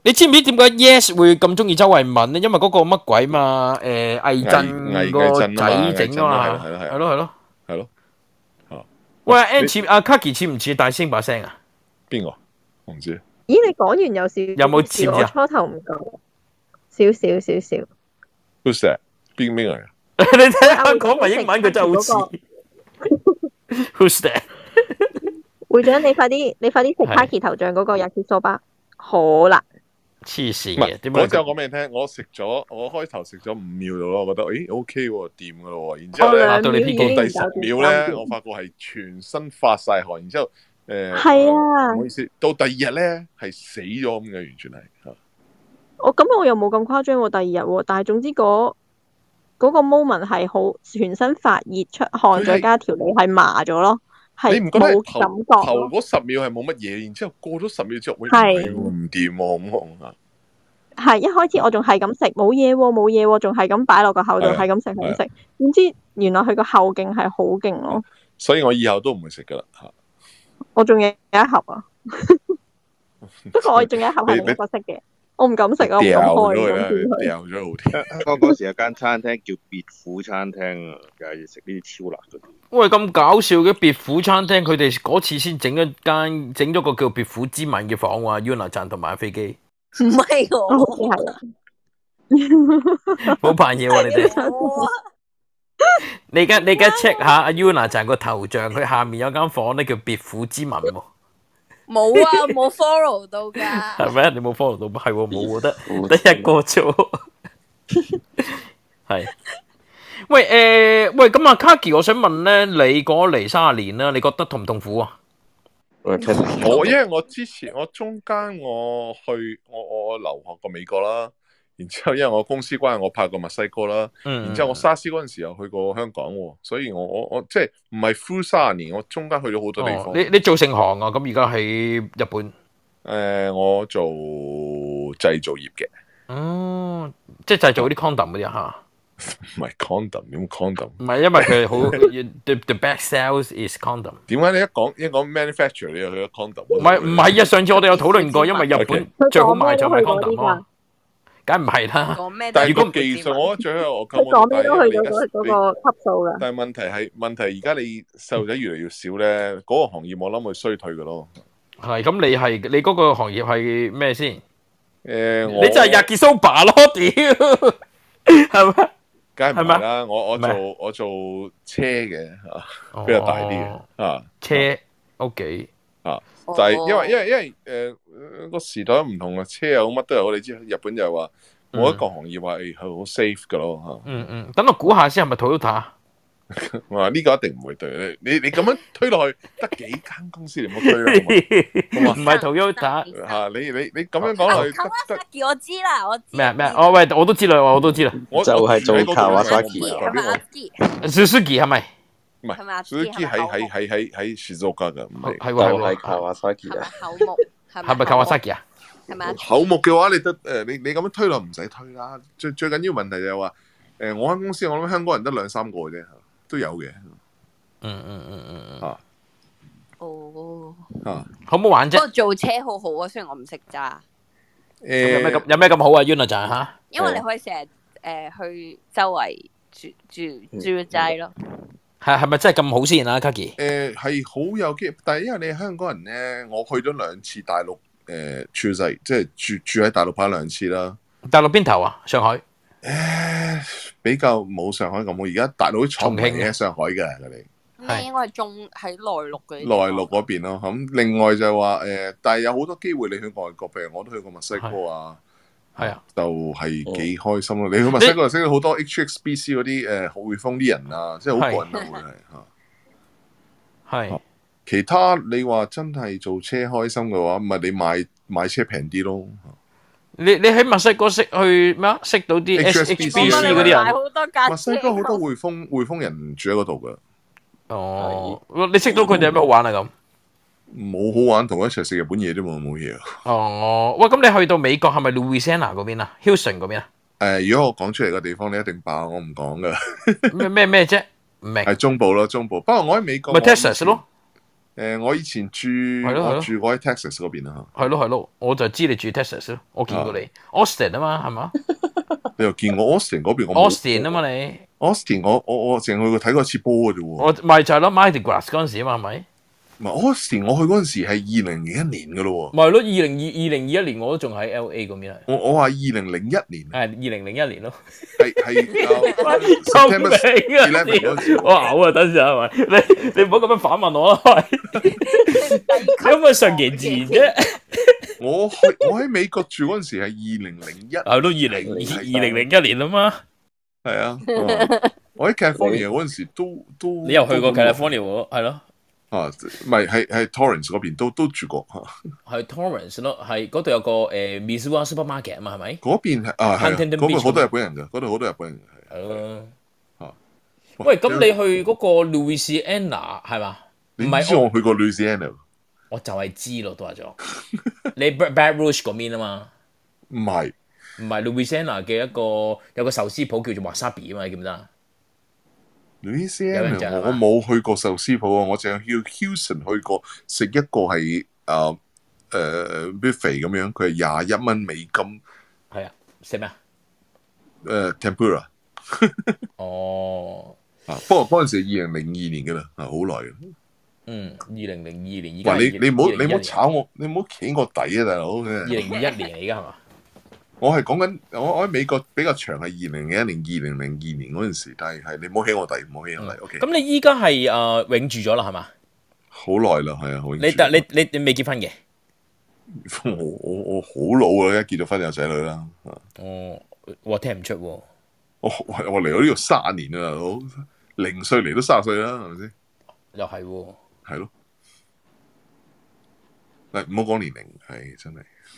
你知唔知點解 Yes 會咁中意周慧敏咧？因為嗰個乜鬼嘛？誒魏震個仔整啊嘛， 係咯係係咯係咯係咯。哦， 喂 ，Ann 似阿 Kaki 似唔似大聲把聲啊？ 邊個？我唔知。 咦，你講完有少有冇似唔似我啊？ 初頭唔夠，少少少少。 Who's that？邊邊個嚟？ 你睇下講埋英文，佢真係好似。Who's that？ 會長，你快啲，你快啲食 Kaki 頭像嗰個 yakisoba，好啦。 黐線唔係嘅，點解嗰陣我講俾你聽，我食咗，我開頭食咗五秒度咯，我覺得誒 OK 喎，掂噶咯喎。然之後咧，到我兩秒已經到第十搞掂秒咧，我發覺係全身發晒汗，然之後誒， 係啊唔好意思，到第二日咧係死咗咁嘅，完全係嚇。 我咁我又冇咁誇張喎，第二日喎，但係總之嗰嗰個 moment 係好全身發熱出汗，再加條脷係麻咗咯，係你唔覺得冇頭感覺咯。 頭嗰十秒係冇乜嘢，然之後過咗十秒之後，喂，唔係係喎唔掂喎，咁紅啊！ 係一開始我仲係咁食，冇嘢喎，冇嘢喎，仲係咁擺落個口度， 係啊係咁食，係咁係食。點知原來佢個後勁係好勁咯， 所以我以後都唔會食噶啦嚇。 我仲有一盒啊，不過我仲有一盒係另一個色嘅，我唔敢食啊，我唔掉敢開，唔咗佢啦， 敢見佢。 掉咗好啲。 香港嗰時有間餐廳叫別府餐廳啊，又係食呢啲超辣嗰啲。 喂，咁搞笑嘅別府餐廳，佢哋嗰次先整一間，整咗個叫別府之吻嘅房喎，Yuna 站同埋阿飛機， 唔係我， 好似係啊。 好扮嘢喎你哋。你而家你而家 check 下阿 Yuna 站個頭像，佢下面有間房咧叫別府之吻喎， 冇啊，冇 follow 到㗎。 係咪？你冇 follow 到？係喎，冇喎，得得一個啫喎。係。喂誒，喂咁啊，Kaki，我想問咧，你過嚟三十年啦，你覺得痛唔痛苦啊？ 我因為我之前我中間我去我我留學過美國啦，然之後因為我公司關係我拍過墨西哥啦， 嗯然之後我沙士嗰陣時又去過香港喎，所以我我我即係唔係 full 三十年，我中間去咗好多地方。 哦、你你做成行啊？咁而家喺日本？誒、 呃，我做製造業嘅。 哦，即係製造啲 condom 嗰啲嚇。 唔係 condom， 點 condom？ 唔係因為佢好 the the best sales is condom。 點解你一講一講 manufacture 你又去咗 condom？ 唔係唔係啊！上次我哋有討論過，因為日本最好賣就係 condom 啊，梗唔係啦。 但係個技術我覺得最好我佢講咩都去到嗰嗰個級數㗎。 但係問題係問題，而家你細路仔越嚟越少咧，嗰個行業我諗會衰退㗎咯。 係咁，你係你嗰個行業係咩先？ 誒， 你就係 yakisoba 咯，屌，係咪？ 梗係唔係啦，我我做我做車嘅嚇，比較大啲嘅啊。 車 OK 啊，就係因為因為因為誒個時代唔同啊，車又乜都有，你知日本就係話冇一個行業話誒係好 safe 㗎咯嚇。 嗯嗯，等我估下先係咪 Toyota？ 我話呢個一定唔會對你，你你咁樣推落去，得幾間公司你唔好推啦， 唔係 Toyota 嚇你你你咁樣講落去，得得我知啦，我知。 咩咩？哦喂，我都知啦，我都知啦， 就係做 Kawasaki 係咪阿基？ Suzuki 係咪？ 唔係 Suzuki 喺喺喺喺喺 Shizuoka 㗎，唔係係喎係喎 Kawasaki 啊， 口木係咪 Kawasaki 啊？ 係咪？ 口木嘅話，你得誒你你咁樣推落唔使推啦。最最緊要問題就係話誒，我間公司我諗香港人得兩三個嘅啫，都有嘅。 嗯嗯嗯嗯嗯。 啊。 哦。 啊。 好唔好玩啫？ 不過做車好好啊，雖然我唔識揸。 誒。 有咩咁有咩咁好啊 Yuna 就係嚇？ 因為你可以成日誒去周圍住住住齋咯。 係係咪真係咁好先啊 Kaki？ 誒係好有機，但係因為你係香港人咧，我去咗兩次大陸誒處世，即係住住喺大陸拍兩次啦。 大陸邊頭啊？上海。 誒比較冇上海咁好，而家大陸啲廠唔係喺上海嘅佢哋。 咩應該係中喺內陸嘅。 內陸嗰邊咯，咁另外就係話誒，但係有好多機會你去外國，譬如我都去過墨西哥啊。 係啊， 就係幾開心咯！你去墨西哥就識到好多 H X B C 嗰啲誒匯豐啲人啊，即係好過癮啊！會係嚇。 係。 其他你話真係做車開心嘅話，咪你買買車平啲咯。 你你喺墨西哥識去咩啊？識到啲 H S B C 嗰啲人。 墨西哥好多匯豐匯豐人住喺嗰度㗎。 哦，你識到佢哋有咩好玩啊？咁冇好玩，同佢一齊食日本嘢啫嘛，冇嘢。 哦，喂，咁你去到美國係咪 Louisiana 嗰邊啊 ？Houston 嗰邊啊？ 誒，如果我講出嚟嘅地方，你一定爆，我唔講㗎。 咩咩咩啫？唔明。 係中部咯，中部。不過我喺美國。 咪 Texas 咯。 誒，我以前住咯我住過喺 Texas 嗰邊啊。 係咯係咯，我就知你住 Texas 咯，我見過你 Austin 啊嘛，係嘛你又見我 Austin 嗰邊我冇 ？Austin 啊嘛你 Austin 我我我淨去過睇過一次波嘅啫喎。 我咪就係咯 Mardi Gras 嗰陣時啊嘛，係咪？ 唔係 Austin，我去嗰陣時係二零零一年嘅咯喎。 咪係咯，二零二二零二一年我都仲喺 L A 嗰邊係。 我我話二零零一年。 係二零零一年咯。 係係。 救命啊！我嘔啊！等陣係咪？你你唔好咁樣反問我啦，喂！你可唔可以順其自然啫？ 我去我喺美國住嗰陣時係二零零一。 係都二零二零零一年啊嘛。 係啊。我喺 California 嗰陣時都都。 你又去過 California 喎？係咯。 啊，唔係係係 Torrance 嗰邊都都住過嚇。係 Torrance 咯，係嗰度有個誒 Missoula Supermarket 啊嘛，係咪？ 嗰邊係啊係，嗰度好多日本人㗎，嗰度好多日本人嘅係。 係咯。嚇！喂，咁你去嗰個 Louisiana 係嘛？ 你唔知我去過 Louisiana？ 我就係知咯，都話咗。你 Baton Rouge 嗰邊啊嘛？ 唔係， 唔係 Louisiana 嘅一個有個壽司鋪叫做 Wasabi 啊嘛，你記唔記得啊？ Louisiana 我冇去過壽司鋪啊，我淨係去 Houston 去過食一個係誒誒 buffet 咁樣，佢係廿一蚊美金。 係啊，食咩啊？ 誒 tempura。 哦。 啊，不過嗰陣時係二零零二年㗎啦，啊好耐嘅。 嗯，二零零二年，而家你你唔好你唔好炒我，你唔好企我底啊，大佬。 二零二一年而家係嘛？ 我係講緊我我喺美國比較長係二零零一年、二零零二年嗰陣時，但係係你唔好起我底，唔好起我底。O K。 咁你依家係誒永住咗啦，係嘛？ 好耐啦，係啊，好。 你但你你你未結婚嘅？ 我我我好老啦，一結咗婚有仔女啦。 哦，我聽唔出喎。 我我我嚟到呢度卅年啦，大佬，零歲嚟都卅歲啦，係咪先？ 又係喎。 係咯。嗱，唔好講年齡，係真係。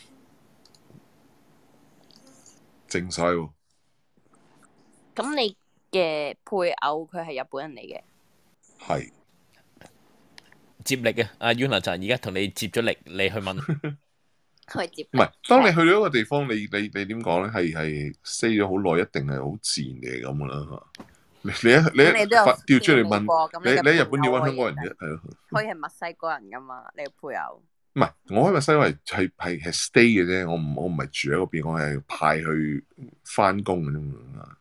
正晒喎！ 咁你嘅配偶佢係日本人嚟嘅， 係接力啊！阿 Yuna 就而家同你接咗力，你去問。 佢接唔係，當你去到一個地方，你你你點講咧？係係 stay 咗好耐，一定係好自然嘅咁噶啦嚇。你你一你調出嚟問，你你喺日本點揾香港人啫？係咯。 佢係墨西哥人噶嘛？你嘅配偶。 唔係，我喺墨西哥係係係係 stay 嘅啫，我唔我唔係住喺嗰邊，我係派去翻工嘅啫嘛。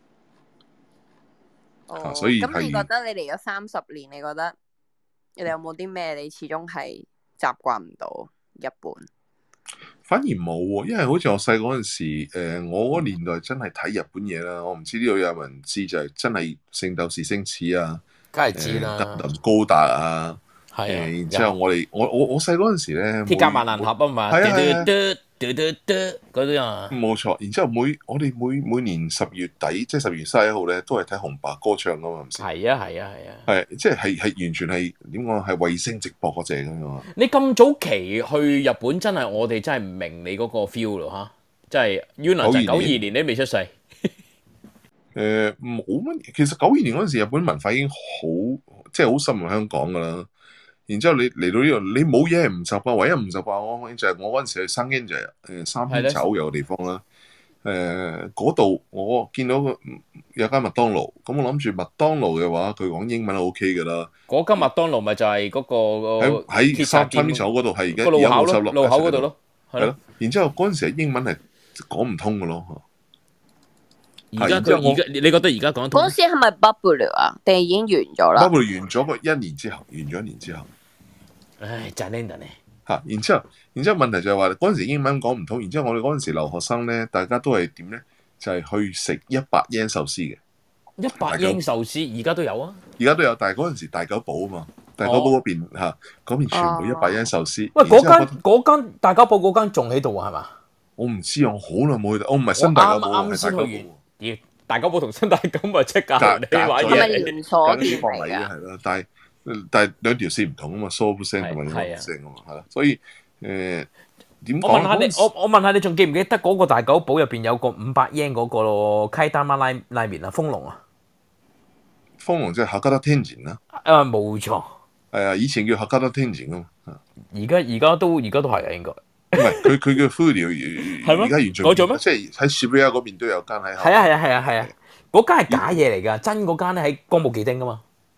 哦， 所以咁你覺得你嚟咗三十年，你覺得你哋有冇啲咩你始終係習慣唔到日本？ 反而冇喎，因為好似我細嗰陣時，誒我嗰年代真係睇日本嘢啦。我唔知呢度有冇人知，就係真係聖鬥士星矢啊， 梗係知啦， 特林高達啊。係啊，然之後我哋我我我細嗰陣時咧， 鐵甲萬能俠啊嘛， 係啊係啊， 嘟嘟嘟嗰啲啊， 冇錯。然之後每我哋每每年十月底，即係十月三十一號咧，都係睇紅白歌唱噶嘛，唔係？ 係啊係啊係啊， 係即係係係完全係點講？係衛星直播嗰隻咁樣。 你咁早期去日本，真係我哋真係唔明你嗰個 feel 咯嚇，即係 Yuna 就九二年你都未出世。 誒冇乜，其實九二年嗰陣時，日本文化已經好即係好深入香港噶啦。然之後你嚟到呢度，你冇嘢係唔習慣，唯一唔習慣我就係我嗰陣時去生英就係誒三軒茶屋有個地方啦。誒嗰度我見到個有間麥當勞，咁我諗住麥當勞嘅話，佢講英文係 O K 噶啦。 嗰間麥當勞咪就係嗰個喺喺三三軒茶屋嗰度係而家路口咯， 路路口嗰度咯，係咯。 然之後嗰陣時英文係講唔通嘅咯。 而家佢而家你覺得而家講得通？ 嗰陣時係咪 Bubble 啊？定係已經完咗啦 ？Bubble 完咗個一年之後，完咗一年之後。 唉，賺靚人咧嚇！然之後，然之後問題就係話嗰陣時英文講唔通，然之後我哋嗰陣時留學生咧，大家都係點咧？就係、是、去食一百yen壽司嘅。 一百yen壽司而家都有啊！ 而家都有，但係嗰陣時大久保啊嘛，大久保嗰邊嚇，嗰、哦、邊全部一百yen壽司。 喂，嗰間嗰間大久保嗰間仲喺度係嘛？ 我唔知啊，我好耐冇去到，我唔係新大久保， 啱啱先去完。咦，大久保同新大久保即刻你玩嘢， 係咪連鎖店嚟㗎？係啦，但係。但係兩條線唔同啊嘛 ，soft 聲同埋呢個聲啊嘛，係啦，所以誒點講？ 我問下你，我我問下你，仲記唔記得嗰個大久保入邊有個五百yen嗰個咯？溪丹媽拉拉麵啊，豐隆啊， 豐隆即係客家得天然啦。 啊，冇錯。 係啊，以前叫客家得天然啊嘛。 而家而家都而家都係啊，應該。 唔係，佢佢叫 Fudio，而家完全改咗咩？ 即係喺 Shibuya 嗰邊都有間喺。 係啊係啊係啊係啊，嗰間係假嘢嚟㗎，真嗰間咧喺歌舞伎町㗎嘛。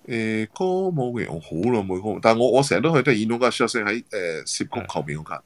誒歌舞嘅我好耐冇歌舞，但係我我成日都去都係演到架 shot 喺誒涉谷後邊嗰間。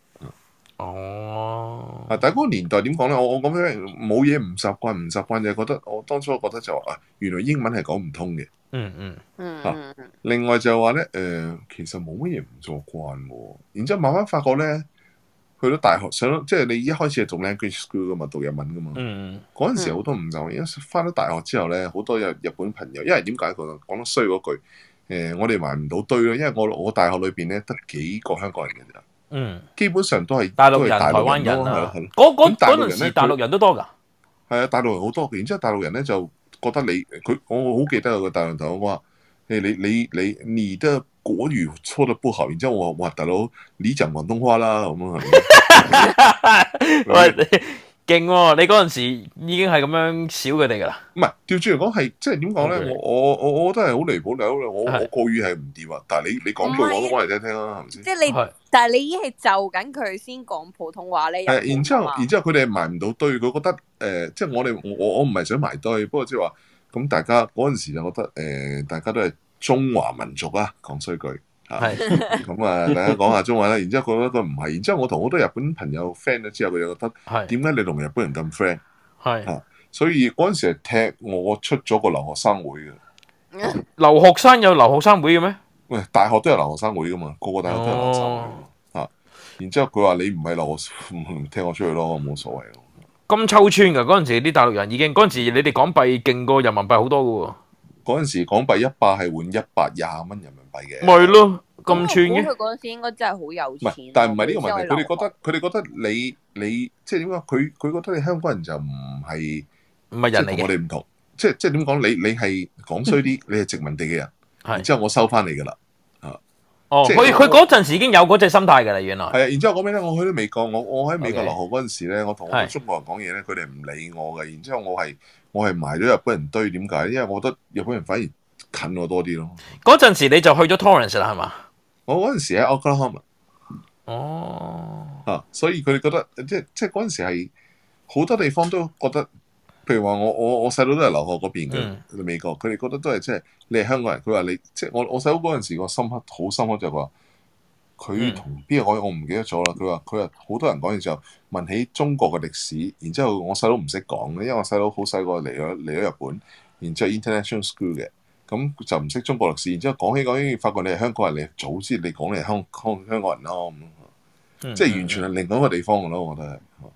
哦。 啊！但係嗰個年代點講咧？我我咁樣冇嘢唔習慣，唔習慣就係覺得我當初覺得就話啊，原來英文係講唔通嘅。 嗯嗯。 嗯啊，另外就係話咧，誒，其實冇乜嘢唔做慣喎。然之後慢慢發覺咧，去到大學上到即係你一開始係讀 language school 噶嘛，讀日文噶嘛。 嗯。 嗰陣時好多唔習慣，因為翻到大學之後咧，好多有日本朋友，因為點解佢講得衰嗰句誒，我哋埋唔到堆咯，因為我我大學裏邊咧得幾個香港人嘅啫。 嗯， 基本上都係大陸人、 都係大台灣人咯， 啊係咯。 嗰嗰嗰陣咁大陸人咧時大陸人都多㗎。 係啊，大陸人好多嘅。然之後大陸人咧就覺得你佢，我好記得有個大陸同我話：誒你你你你的國語錯得不好。然之後我話：哇，大佬你講廣東話啦咁啊。 喂，勁喎！你嗰陣時已經係咁樣笑佢哋㗎啦。 唔係調轉嚟講係即係點講咧？我我我我覺得係好離譜嚟，我我我國語係唔掂啊！但係你你講句廣東話嚟聽聽啦，係咪先？ 即係你，但係你已經係就緊佢先講普通話咧。 係，然之後然之後佢哋埋唔到堆，佢覺得誒、呃，即係我哋我我唔係想埋堆，不過即係話咁大家嗰陣時就覺得誒、呃，大家都係中華民族啊，講衰句嚇。咁啊，大家講下中文啦。然之後覺得佢唔係，然之後我同好多日本朋友 friend 咗之後，佢就覺得點解你同日本人咁 friend？ 係嚇，所以嗰陣時係踢我出咗個留學生會嘅。 留學生有留學生會嘅咩？ 喂，大學都有留學生會噶嘛，個個大學都有留學生會。 哦啊，然之後佢話你唔係留學，唔踢我出去咯，冇所謂。 咁抽穿㗎嗰陣時，啲大陸人已經嗰陣時，你哋港幣勁過人民幣好多㗎喎。 嗰陣時港幣一百係換一百廿蚊人民幣嘅。 咪咯，咁串嘅。 佢嗰陣時應該真係好有唔錢。 係，但係唔係呢個問題，佢哋佢覺得佢哋覺得你你即係點講？佢佢覺得你香港人就唔係唔係人嚟嘅， 同我哋唔同。即係即係點講？你你係講衰啲，你係殖民地嘅人，然之後我收翻你㗎啦。啊， 哦， 即係佢佢嗰陣時已經有嗰隻心態㗎啦，原來。 係啊，然之後講咩咧？我去到美國，我我喺美國 OK 留學嗰陣時咧，我同我係中國人講嘢咧，佢哋唔理我嘅。然之後我係我係埋咗日本人堆，點解？因為我覺得日本人反而近我多啲咯。 嗰陣時你就去咗 Torrance 啦，係嘛？ 我嗰陣時喺 Oklahoma。 哦。 啊，所以佢哋覺得即係即係嗰陣時係好多地方都覺得，譬如話我我我細佬都係留學嗰邊嘅， 嗯美國，佢哋覺得都係即係你係香港人。佢話你即係我我細佬嗰陣時個深刻好深刻就係話，佢同邊個講嘢我唔記得咗啦。佢話佢話好多人講嘢之後問起中國嘅歷史，然之後我細佬唔識講嘅，因為我細佬好細個嚟咗嚟咗日本，然之後 international school 嘅。咁就唔識中國歷史，然之後講起講起，發覺你係香港人，你早知你講你係香香香港人咯，咁、嗯、即係完全係另外一個地方嘅咯，我覺得係。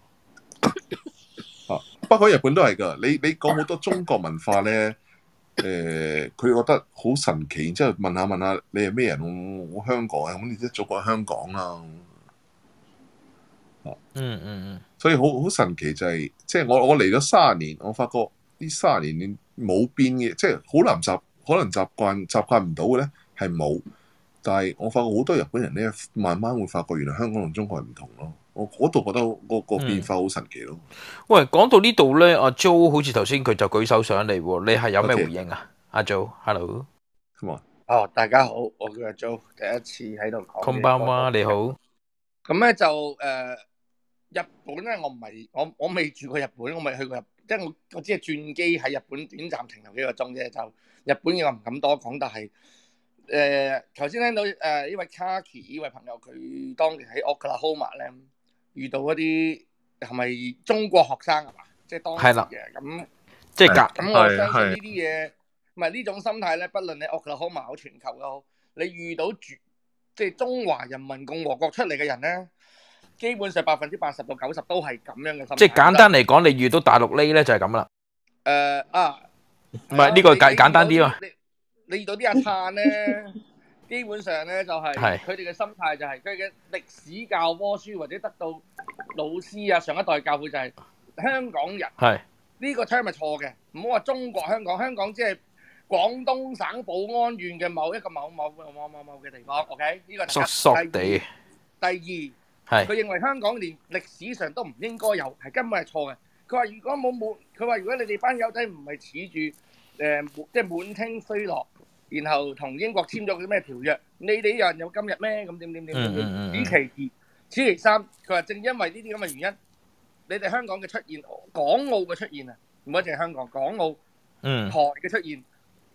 啊，不過日本都係㗎，你你講好多中國文化咧，誒、呃，佢覺得好神奇，然之後問下問下你係咩人？我我香港啊，咁你即係祖國香港啦。啊， 嗯嗯嗯， 所以好好神奇就係、是，即係我我嚟咗三十年，我發覺呢三十年你冇變嘅，即係好難習。可能習慣習慣唔到嘅咧係冇，但係我發覺好多日本人咧，慢慢會發覺原來香港同中國係唔同咯。我嗰度覺得個個變化好神奇咯。 喂，講到呢度咧，阿 Jo 好似頭先佢就舉手上嚟喎，你係有咩回應啊？阿 Jo，hello， 哦，大家好，我叫阿 Jo，第一次喺度講。 こんばんは，你好。 咁咧就誒、呃，日本咧，我唔係我我未住過日本，我未去過日本，即係我我只係轉機喺日本短暫停留幾個鐘啫，就。日本嘅我唔敢多講，但係誒頭先聽到誒呢、呃、位 Kaki 呢位朋友，佢當年喺 Oklahoma 咧遇到一啲係咪中國學生係嘛？即係當時嘅咁， 即係夾咁我相信呢啲嘢，唔係呢種心態咧，不論你 Oklahoma 好全球都好，你遇到住即係中華人民共和國出嚟嘅人咧，基本上百分之八十到九十都係咁樣嘅心態。 即係簡單嚟講，你遇到大陸呢咧就係咁啦。 誒、呃、啊！ 唔係呢個簡簡單啲啊！ 你你遇到啲阿燦咧，基本上咧就係佢哋嘅心態就係佢嘅歷史教科書或者得到老師啊上一代教會就係香港人。 係呢個 term 係錯嘅，唔好話中國香港，香港即係廣東省寶安縣嘅某一個某某某某某某嘅地方。OK， 呢個係縮縮地。 第二， 係佢認為香港連歷史上都唔應該有，係根本係錯嘅。佢話如果冇冇，佢話如果你哋班友仔唔係恃住誒即係滿天飛落，然後同英國簽咗啲咩條約，你哋有人有今日咩？咁點點點點點？此其二，此其三。佢話正因為呢啲咁嘅原因，你哋香港嘅出現，港澳嘅出現啊，唔係淨係香港，港澳、 嗯台嘅出現，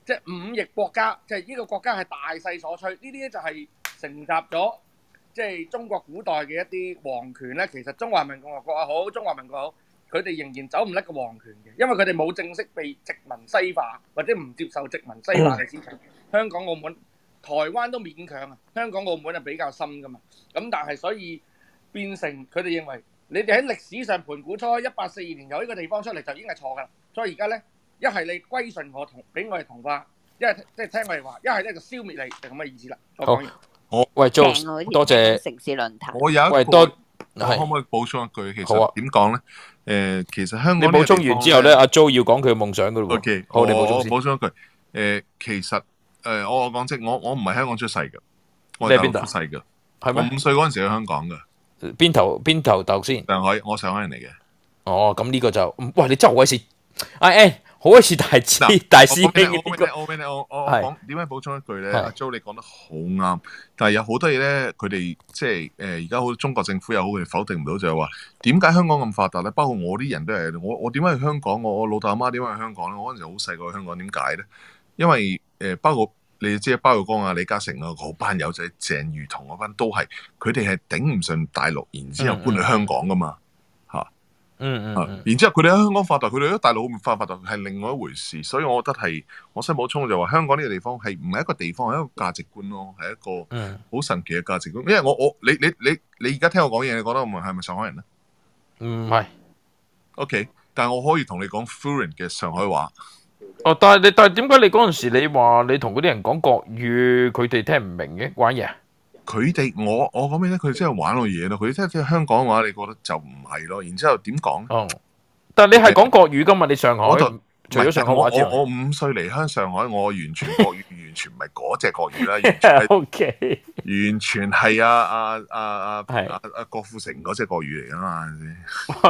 即係五億國家，即係呢個國家係大勢所趨。呢啲咧就係承襲咗即係中國古代嘅一啲皇權咧。其實中華人民共和國又好，中華民國又好，佢哋仍然走唔甩個皇權嘅，因為佢哋冇正式被殖民西化，或者唔接受殖民西化嘅思想。香港、澳門、台灣都勉強啊，香港、澳門係比較深噶嘛。咁但係所以變成佢哋認為，你哋喺歷史上盤古初一八四二年有呢個地方出嚟就已經係錯噶啦。所以而家咧，一係你歸順我同俾我哋同化，一係即係聽我哋話，一係咧就消滅你，就咁嘅意思啦。我講完。 我喂，Jo， 正喎多謝城市論壇。 我有一喂多個，我可唔可以補充一句？其好啊實點講咧？誒，其實香你港補充完之後咧，阿 Jo 要講佢嘅夢想噶咯喎。 ，OK， 好，你補我充先。 我補充一句。誒，其實誒，我我講即我我唔係香港出世嘅，我係大你係邊度陸出世嘅。 係咩我五歲嗰陣時去香港嘅。 邊頭邊頭豆先？ 上海，我上海人嚟嘅。 哦，咁呢個就，喂，你真係好鬼似，阿 N 好鬼似大師大師兄嘅呢個。 我俾你，我我係講點解補充一句咧？ 係阿 Jo 你講得好啱，但係有好多嘢咧，佢哋即係誒而家好中國政府又好，佢哋否定唔到，就係話點解香港咁發達咧？包括我啲人都係，我我點解去香港？我我老豆阿媽點解去香港咧？我嗰陣時好細個去香港，點解咧？因為誒、呃、包括你知包括光啊、李嘉誠啊嗰班友仔、鄭裕彤嗰班都係，佢哋係頂唔順大陸，然之後搬去香港噶嘛。 嗯嗯嗯， 然之後佢哋喺香港發達，佢哋喺大陸冇發發達係另外一回事，所以我覺得係我想補充就話香港呢個地方係唔係一個地方，係一個價值觀咯，係一個好神奇嘅價值觀。因為我我你你你你而家聽我講嘢，你覺得我係咪上海人咧？ 唔係。 OK，但係我可以同你講 fluent 嘅上海話。 哦，但係你但係點解你嗰陣時你話你同嗰啲人講國語，佢哋聽唔明嘅玩嘢？ 佢哋我我講咩咧？佢哋真係玩我嘢咯。佢哋真係香港嘅話，你覺得就唔係咯。然之後點講？ 哦，但係你係講國語噶嘛？你上海我就除咗上海話之外， 我我我五歲離鄉上海，我完全國語完全唔係嗰隻國語啦，完全係 OK， 完全係啊啊啊啊啊啊郭富城嗰隻國語嚟噶嘛？係咪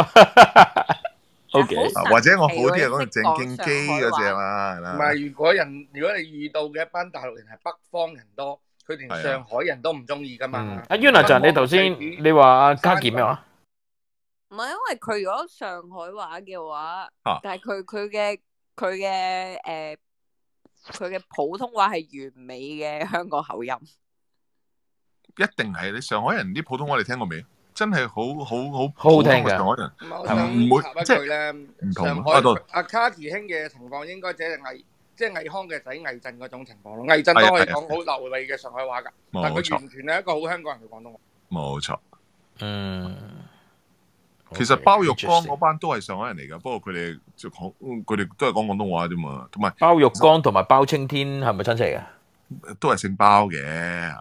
先 OK， 或者我好啲係講鄭敬基嗰隻啦，係啦。 唔係，如果人如果你遇到嘅一班大陸人係北方人多，佢連上海人都唔中意噶嘛。 阿 Yuna 就你頭先你話阿嘉健咩話？ 唔係因為佢如果上海話嘅話， 啊但係佢佢嘅佢嘅誒佢嘅普通話係完美嘅香港口音。 一定係你上海人啲普通話你聽過未？真係好好好好好聽㗎上海人我係唔會想插一即句咧， 唔同上海啊。到阿卡奇兄嘅情況應該只係魏即係魏康嘅仔魏震嗰種情況咯。魏震都可以講好流利嘅上海話㗎，但係佢完全係一個好香港人嘅廣東話。 冇錯。 嗯， 其實包玉剛嗰班都係上海人嚟㗎，不過佢哋就講佢哋都係講廣東話啫嘛。同埋包玉剛同埋包青天係咪親戚嚟嘅？ 都係姓包嘅。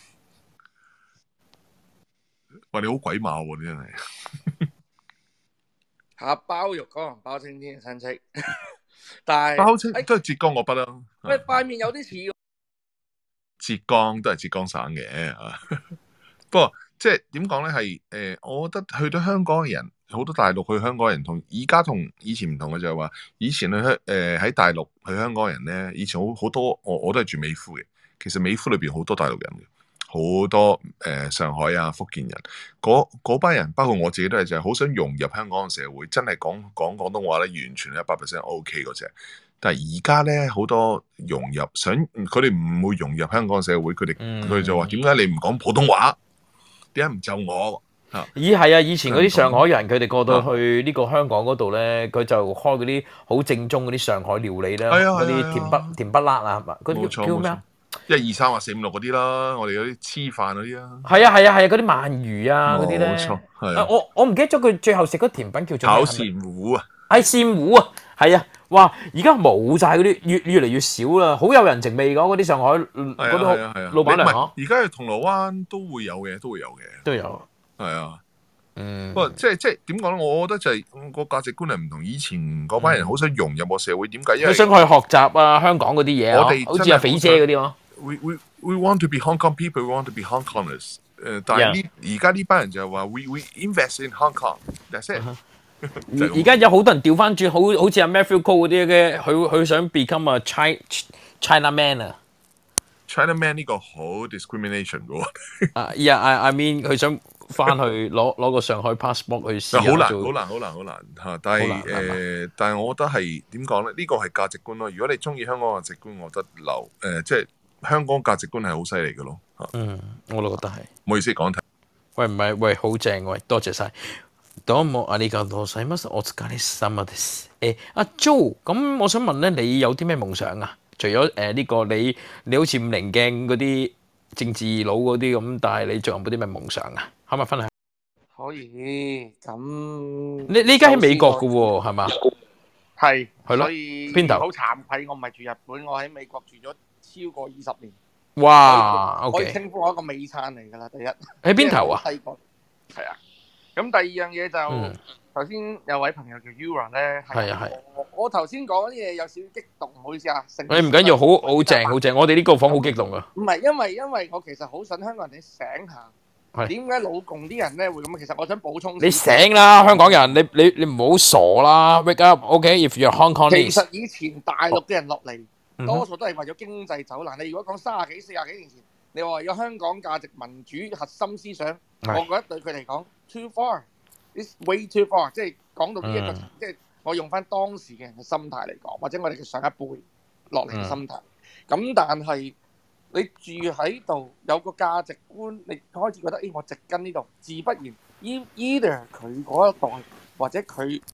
喂，你好鬼馬喎！你真係嚇包玉剛同包青天嘅親戚，但係包青都係浙江嗰筆啦。 喂，塊面有啲似喎。 浙江都係浙江省嘅，不過即係點講咧？係誒，我覺得去到香港嘅人，好多大陸去香港人同而家同以前唔同嘅就係話，以前去香誒喺大陸去香港人咧，以前好好多我我都係住美孚嘅，其實美孚裏邊好多大陸人嘅。好多誒、呃、上海啊、福建人，嗰班人包括我自己都係就係好想融入香港嘅社會，真係講講廣東話咧，完全係一百 percent OK 嗰隻。但係而家咧好多融入，想佢哋唔會融入香港嘅社會，佢哋佢哋就話點解你唔講普通話？點解唔就我？啊咦係啊！以前嗰啲上海人，佢哋過到去呢個香港嗰度咧，佢就開嗰啲好正宗嗰啲上海料理啦， 係啊嗰啲甜不甜不辣啊，嗰冇錯啲叫咩啊？ 一二三或四五六嗰啲啦，我哋嗰啲黐飯嗰啲啦。 係啊係啊係啊，嗰啲鰻魚啊嗰啲咧。 冇錯，係啊。 我我唔記得咗佢最後食嗰甜品叫做咩炒鱔糊啊！ 係鱔糊啊，係啊！哇！而家冇晒嗰啲，越越嚟越少啦，好有人情味㗎嗰啲上海嗰啲老闆娘嗬。 而家去銅鑼灣都會有嘅，都會有嘅。 都有。 係啊。 嗯。 不過即係即係點講咧？我覺得就係個價值觀係唔同。以前嗰班人好想融入個社會，點解？因為佢想去學習啊香港嗰啲嘢我哋好似阿肥姐嗰啲咯。 We we we want to be Hong Kong people. We want to be Hong Kongers. 誒，但係呢而家呢班人就係話 we we invest in Hong Kong. That's it. 而而家有好多人調翻轉，好好似阿 Matthew Cole 嗰啲嘅，佢佢想 become a China China man 啊。 China man 呢個好 discrimination 嘅喎。 啊，yeah，I I mean 佢想翻去攞攞個上海 passport 去試下好難， 做好難，好難，好難嚇！但係好難係嘛誒，但係我覺得係點講咧？呢個係價值觀咯。如果你中意香港價值觀，我覺得留誒，即係香港價值觀係好犀利嘅咯嚇。 嗯，我都覺得係。 唔好意思講題。 喂，唔係，喂，好正喂，多謝晒。どうもありがとうございます。お疲れ様です。誒，阿 Jo，咁我想問咧，你有啲咩夢想啊？除咗誒呢個你你好似五棱鏡嗰啲政治佬嗰啲咁，但係你仲有冇啲咩夢想啊？可唔可以分享？ 可以咁。 你你而家喺美國嘅喎，係嘛？ 係係咯所以邊度好慚愧，我唔係住日本，我喺美國住咗超過二十年。 哇可以可以 ，OK， 稱呼我一個美燦嚟㗎啦。第一喺邊頭啊？ 細個係啊。咁第二樣嘢就嗯頭先有位朋友叫 Ura 咧， 係啊係我我頭先講啲嘢有少少激動，唔好意思啊。成你唔緊要，好好正好正，我哋呢個房好激動啊！ 唔係因為因為我其實好想香港人哋醒下， 係點解老共啲人咧會咁？其實我想補充。 你醒啦，香港人，你你你唔好傻啦，wake up，OK？If you're Hong 其 Kongese， 實以前大陸嘅人落嚟， 嗯哼多數都係為咗經濟走難。你如果講三十幾、四十幾年前，你話有香港價值、民主核心思想， 係我覺得對佢嚟講 too far，it's way too far。即係講到呢一個， 嗯即係我用翻當時嘅人嘅心態嚟講，或者我哋嘅上一輩落嚟嘅心態。咁但係你住喺度有個價值觀，你開始覺得，誒我植根呢度，自不然 e- either 佢嗰一代或者佢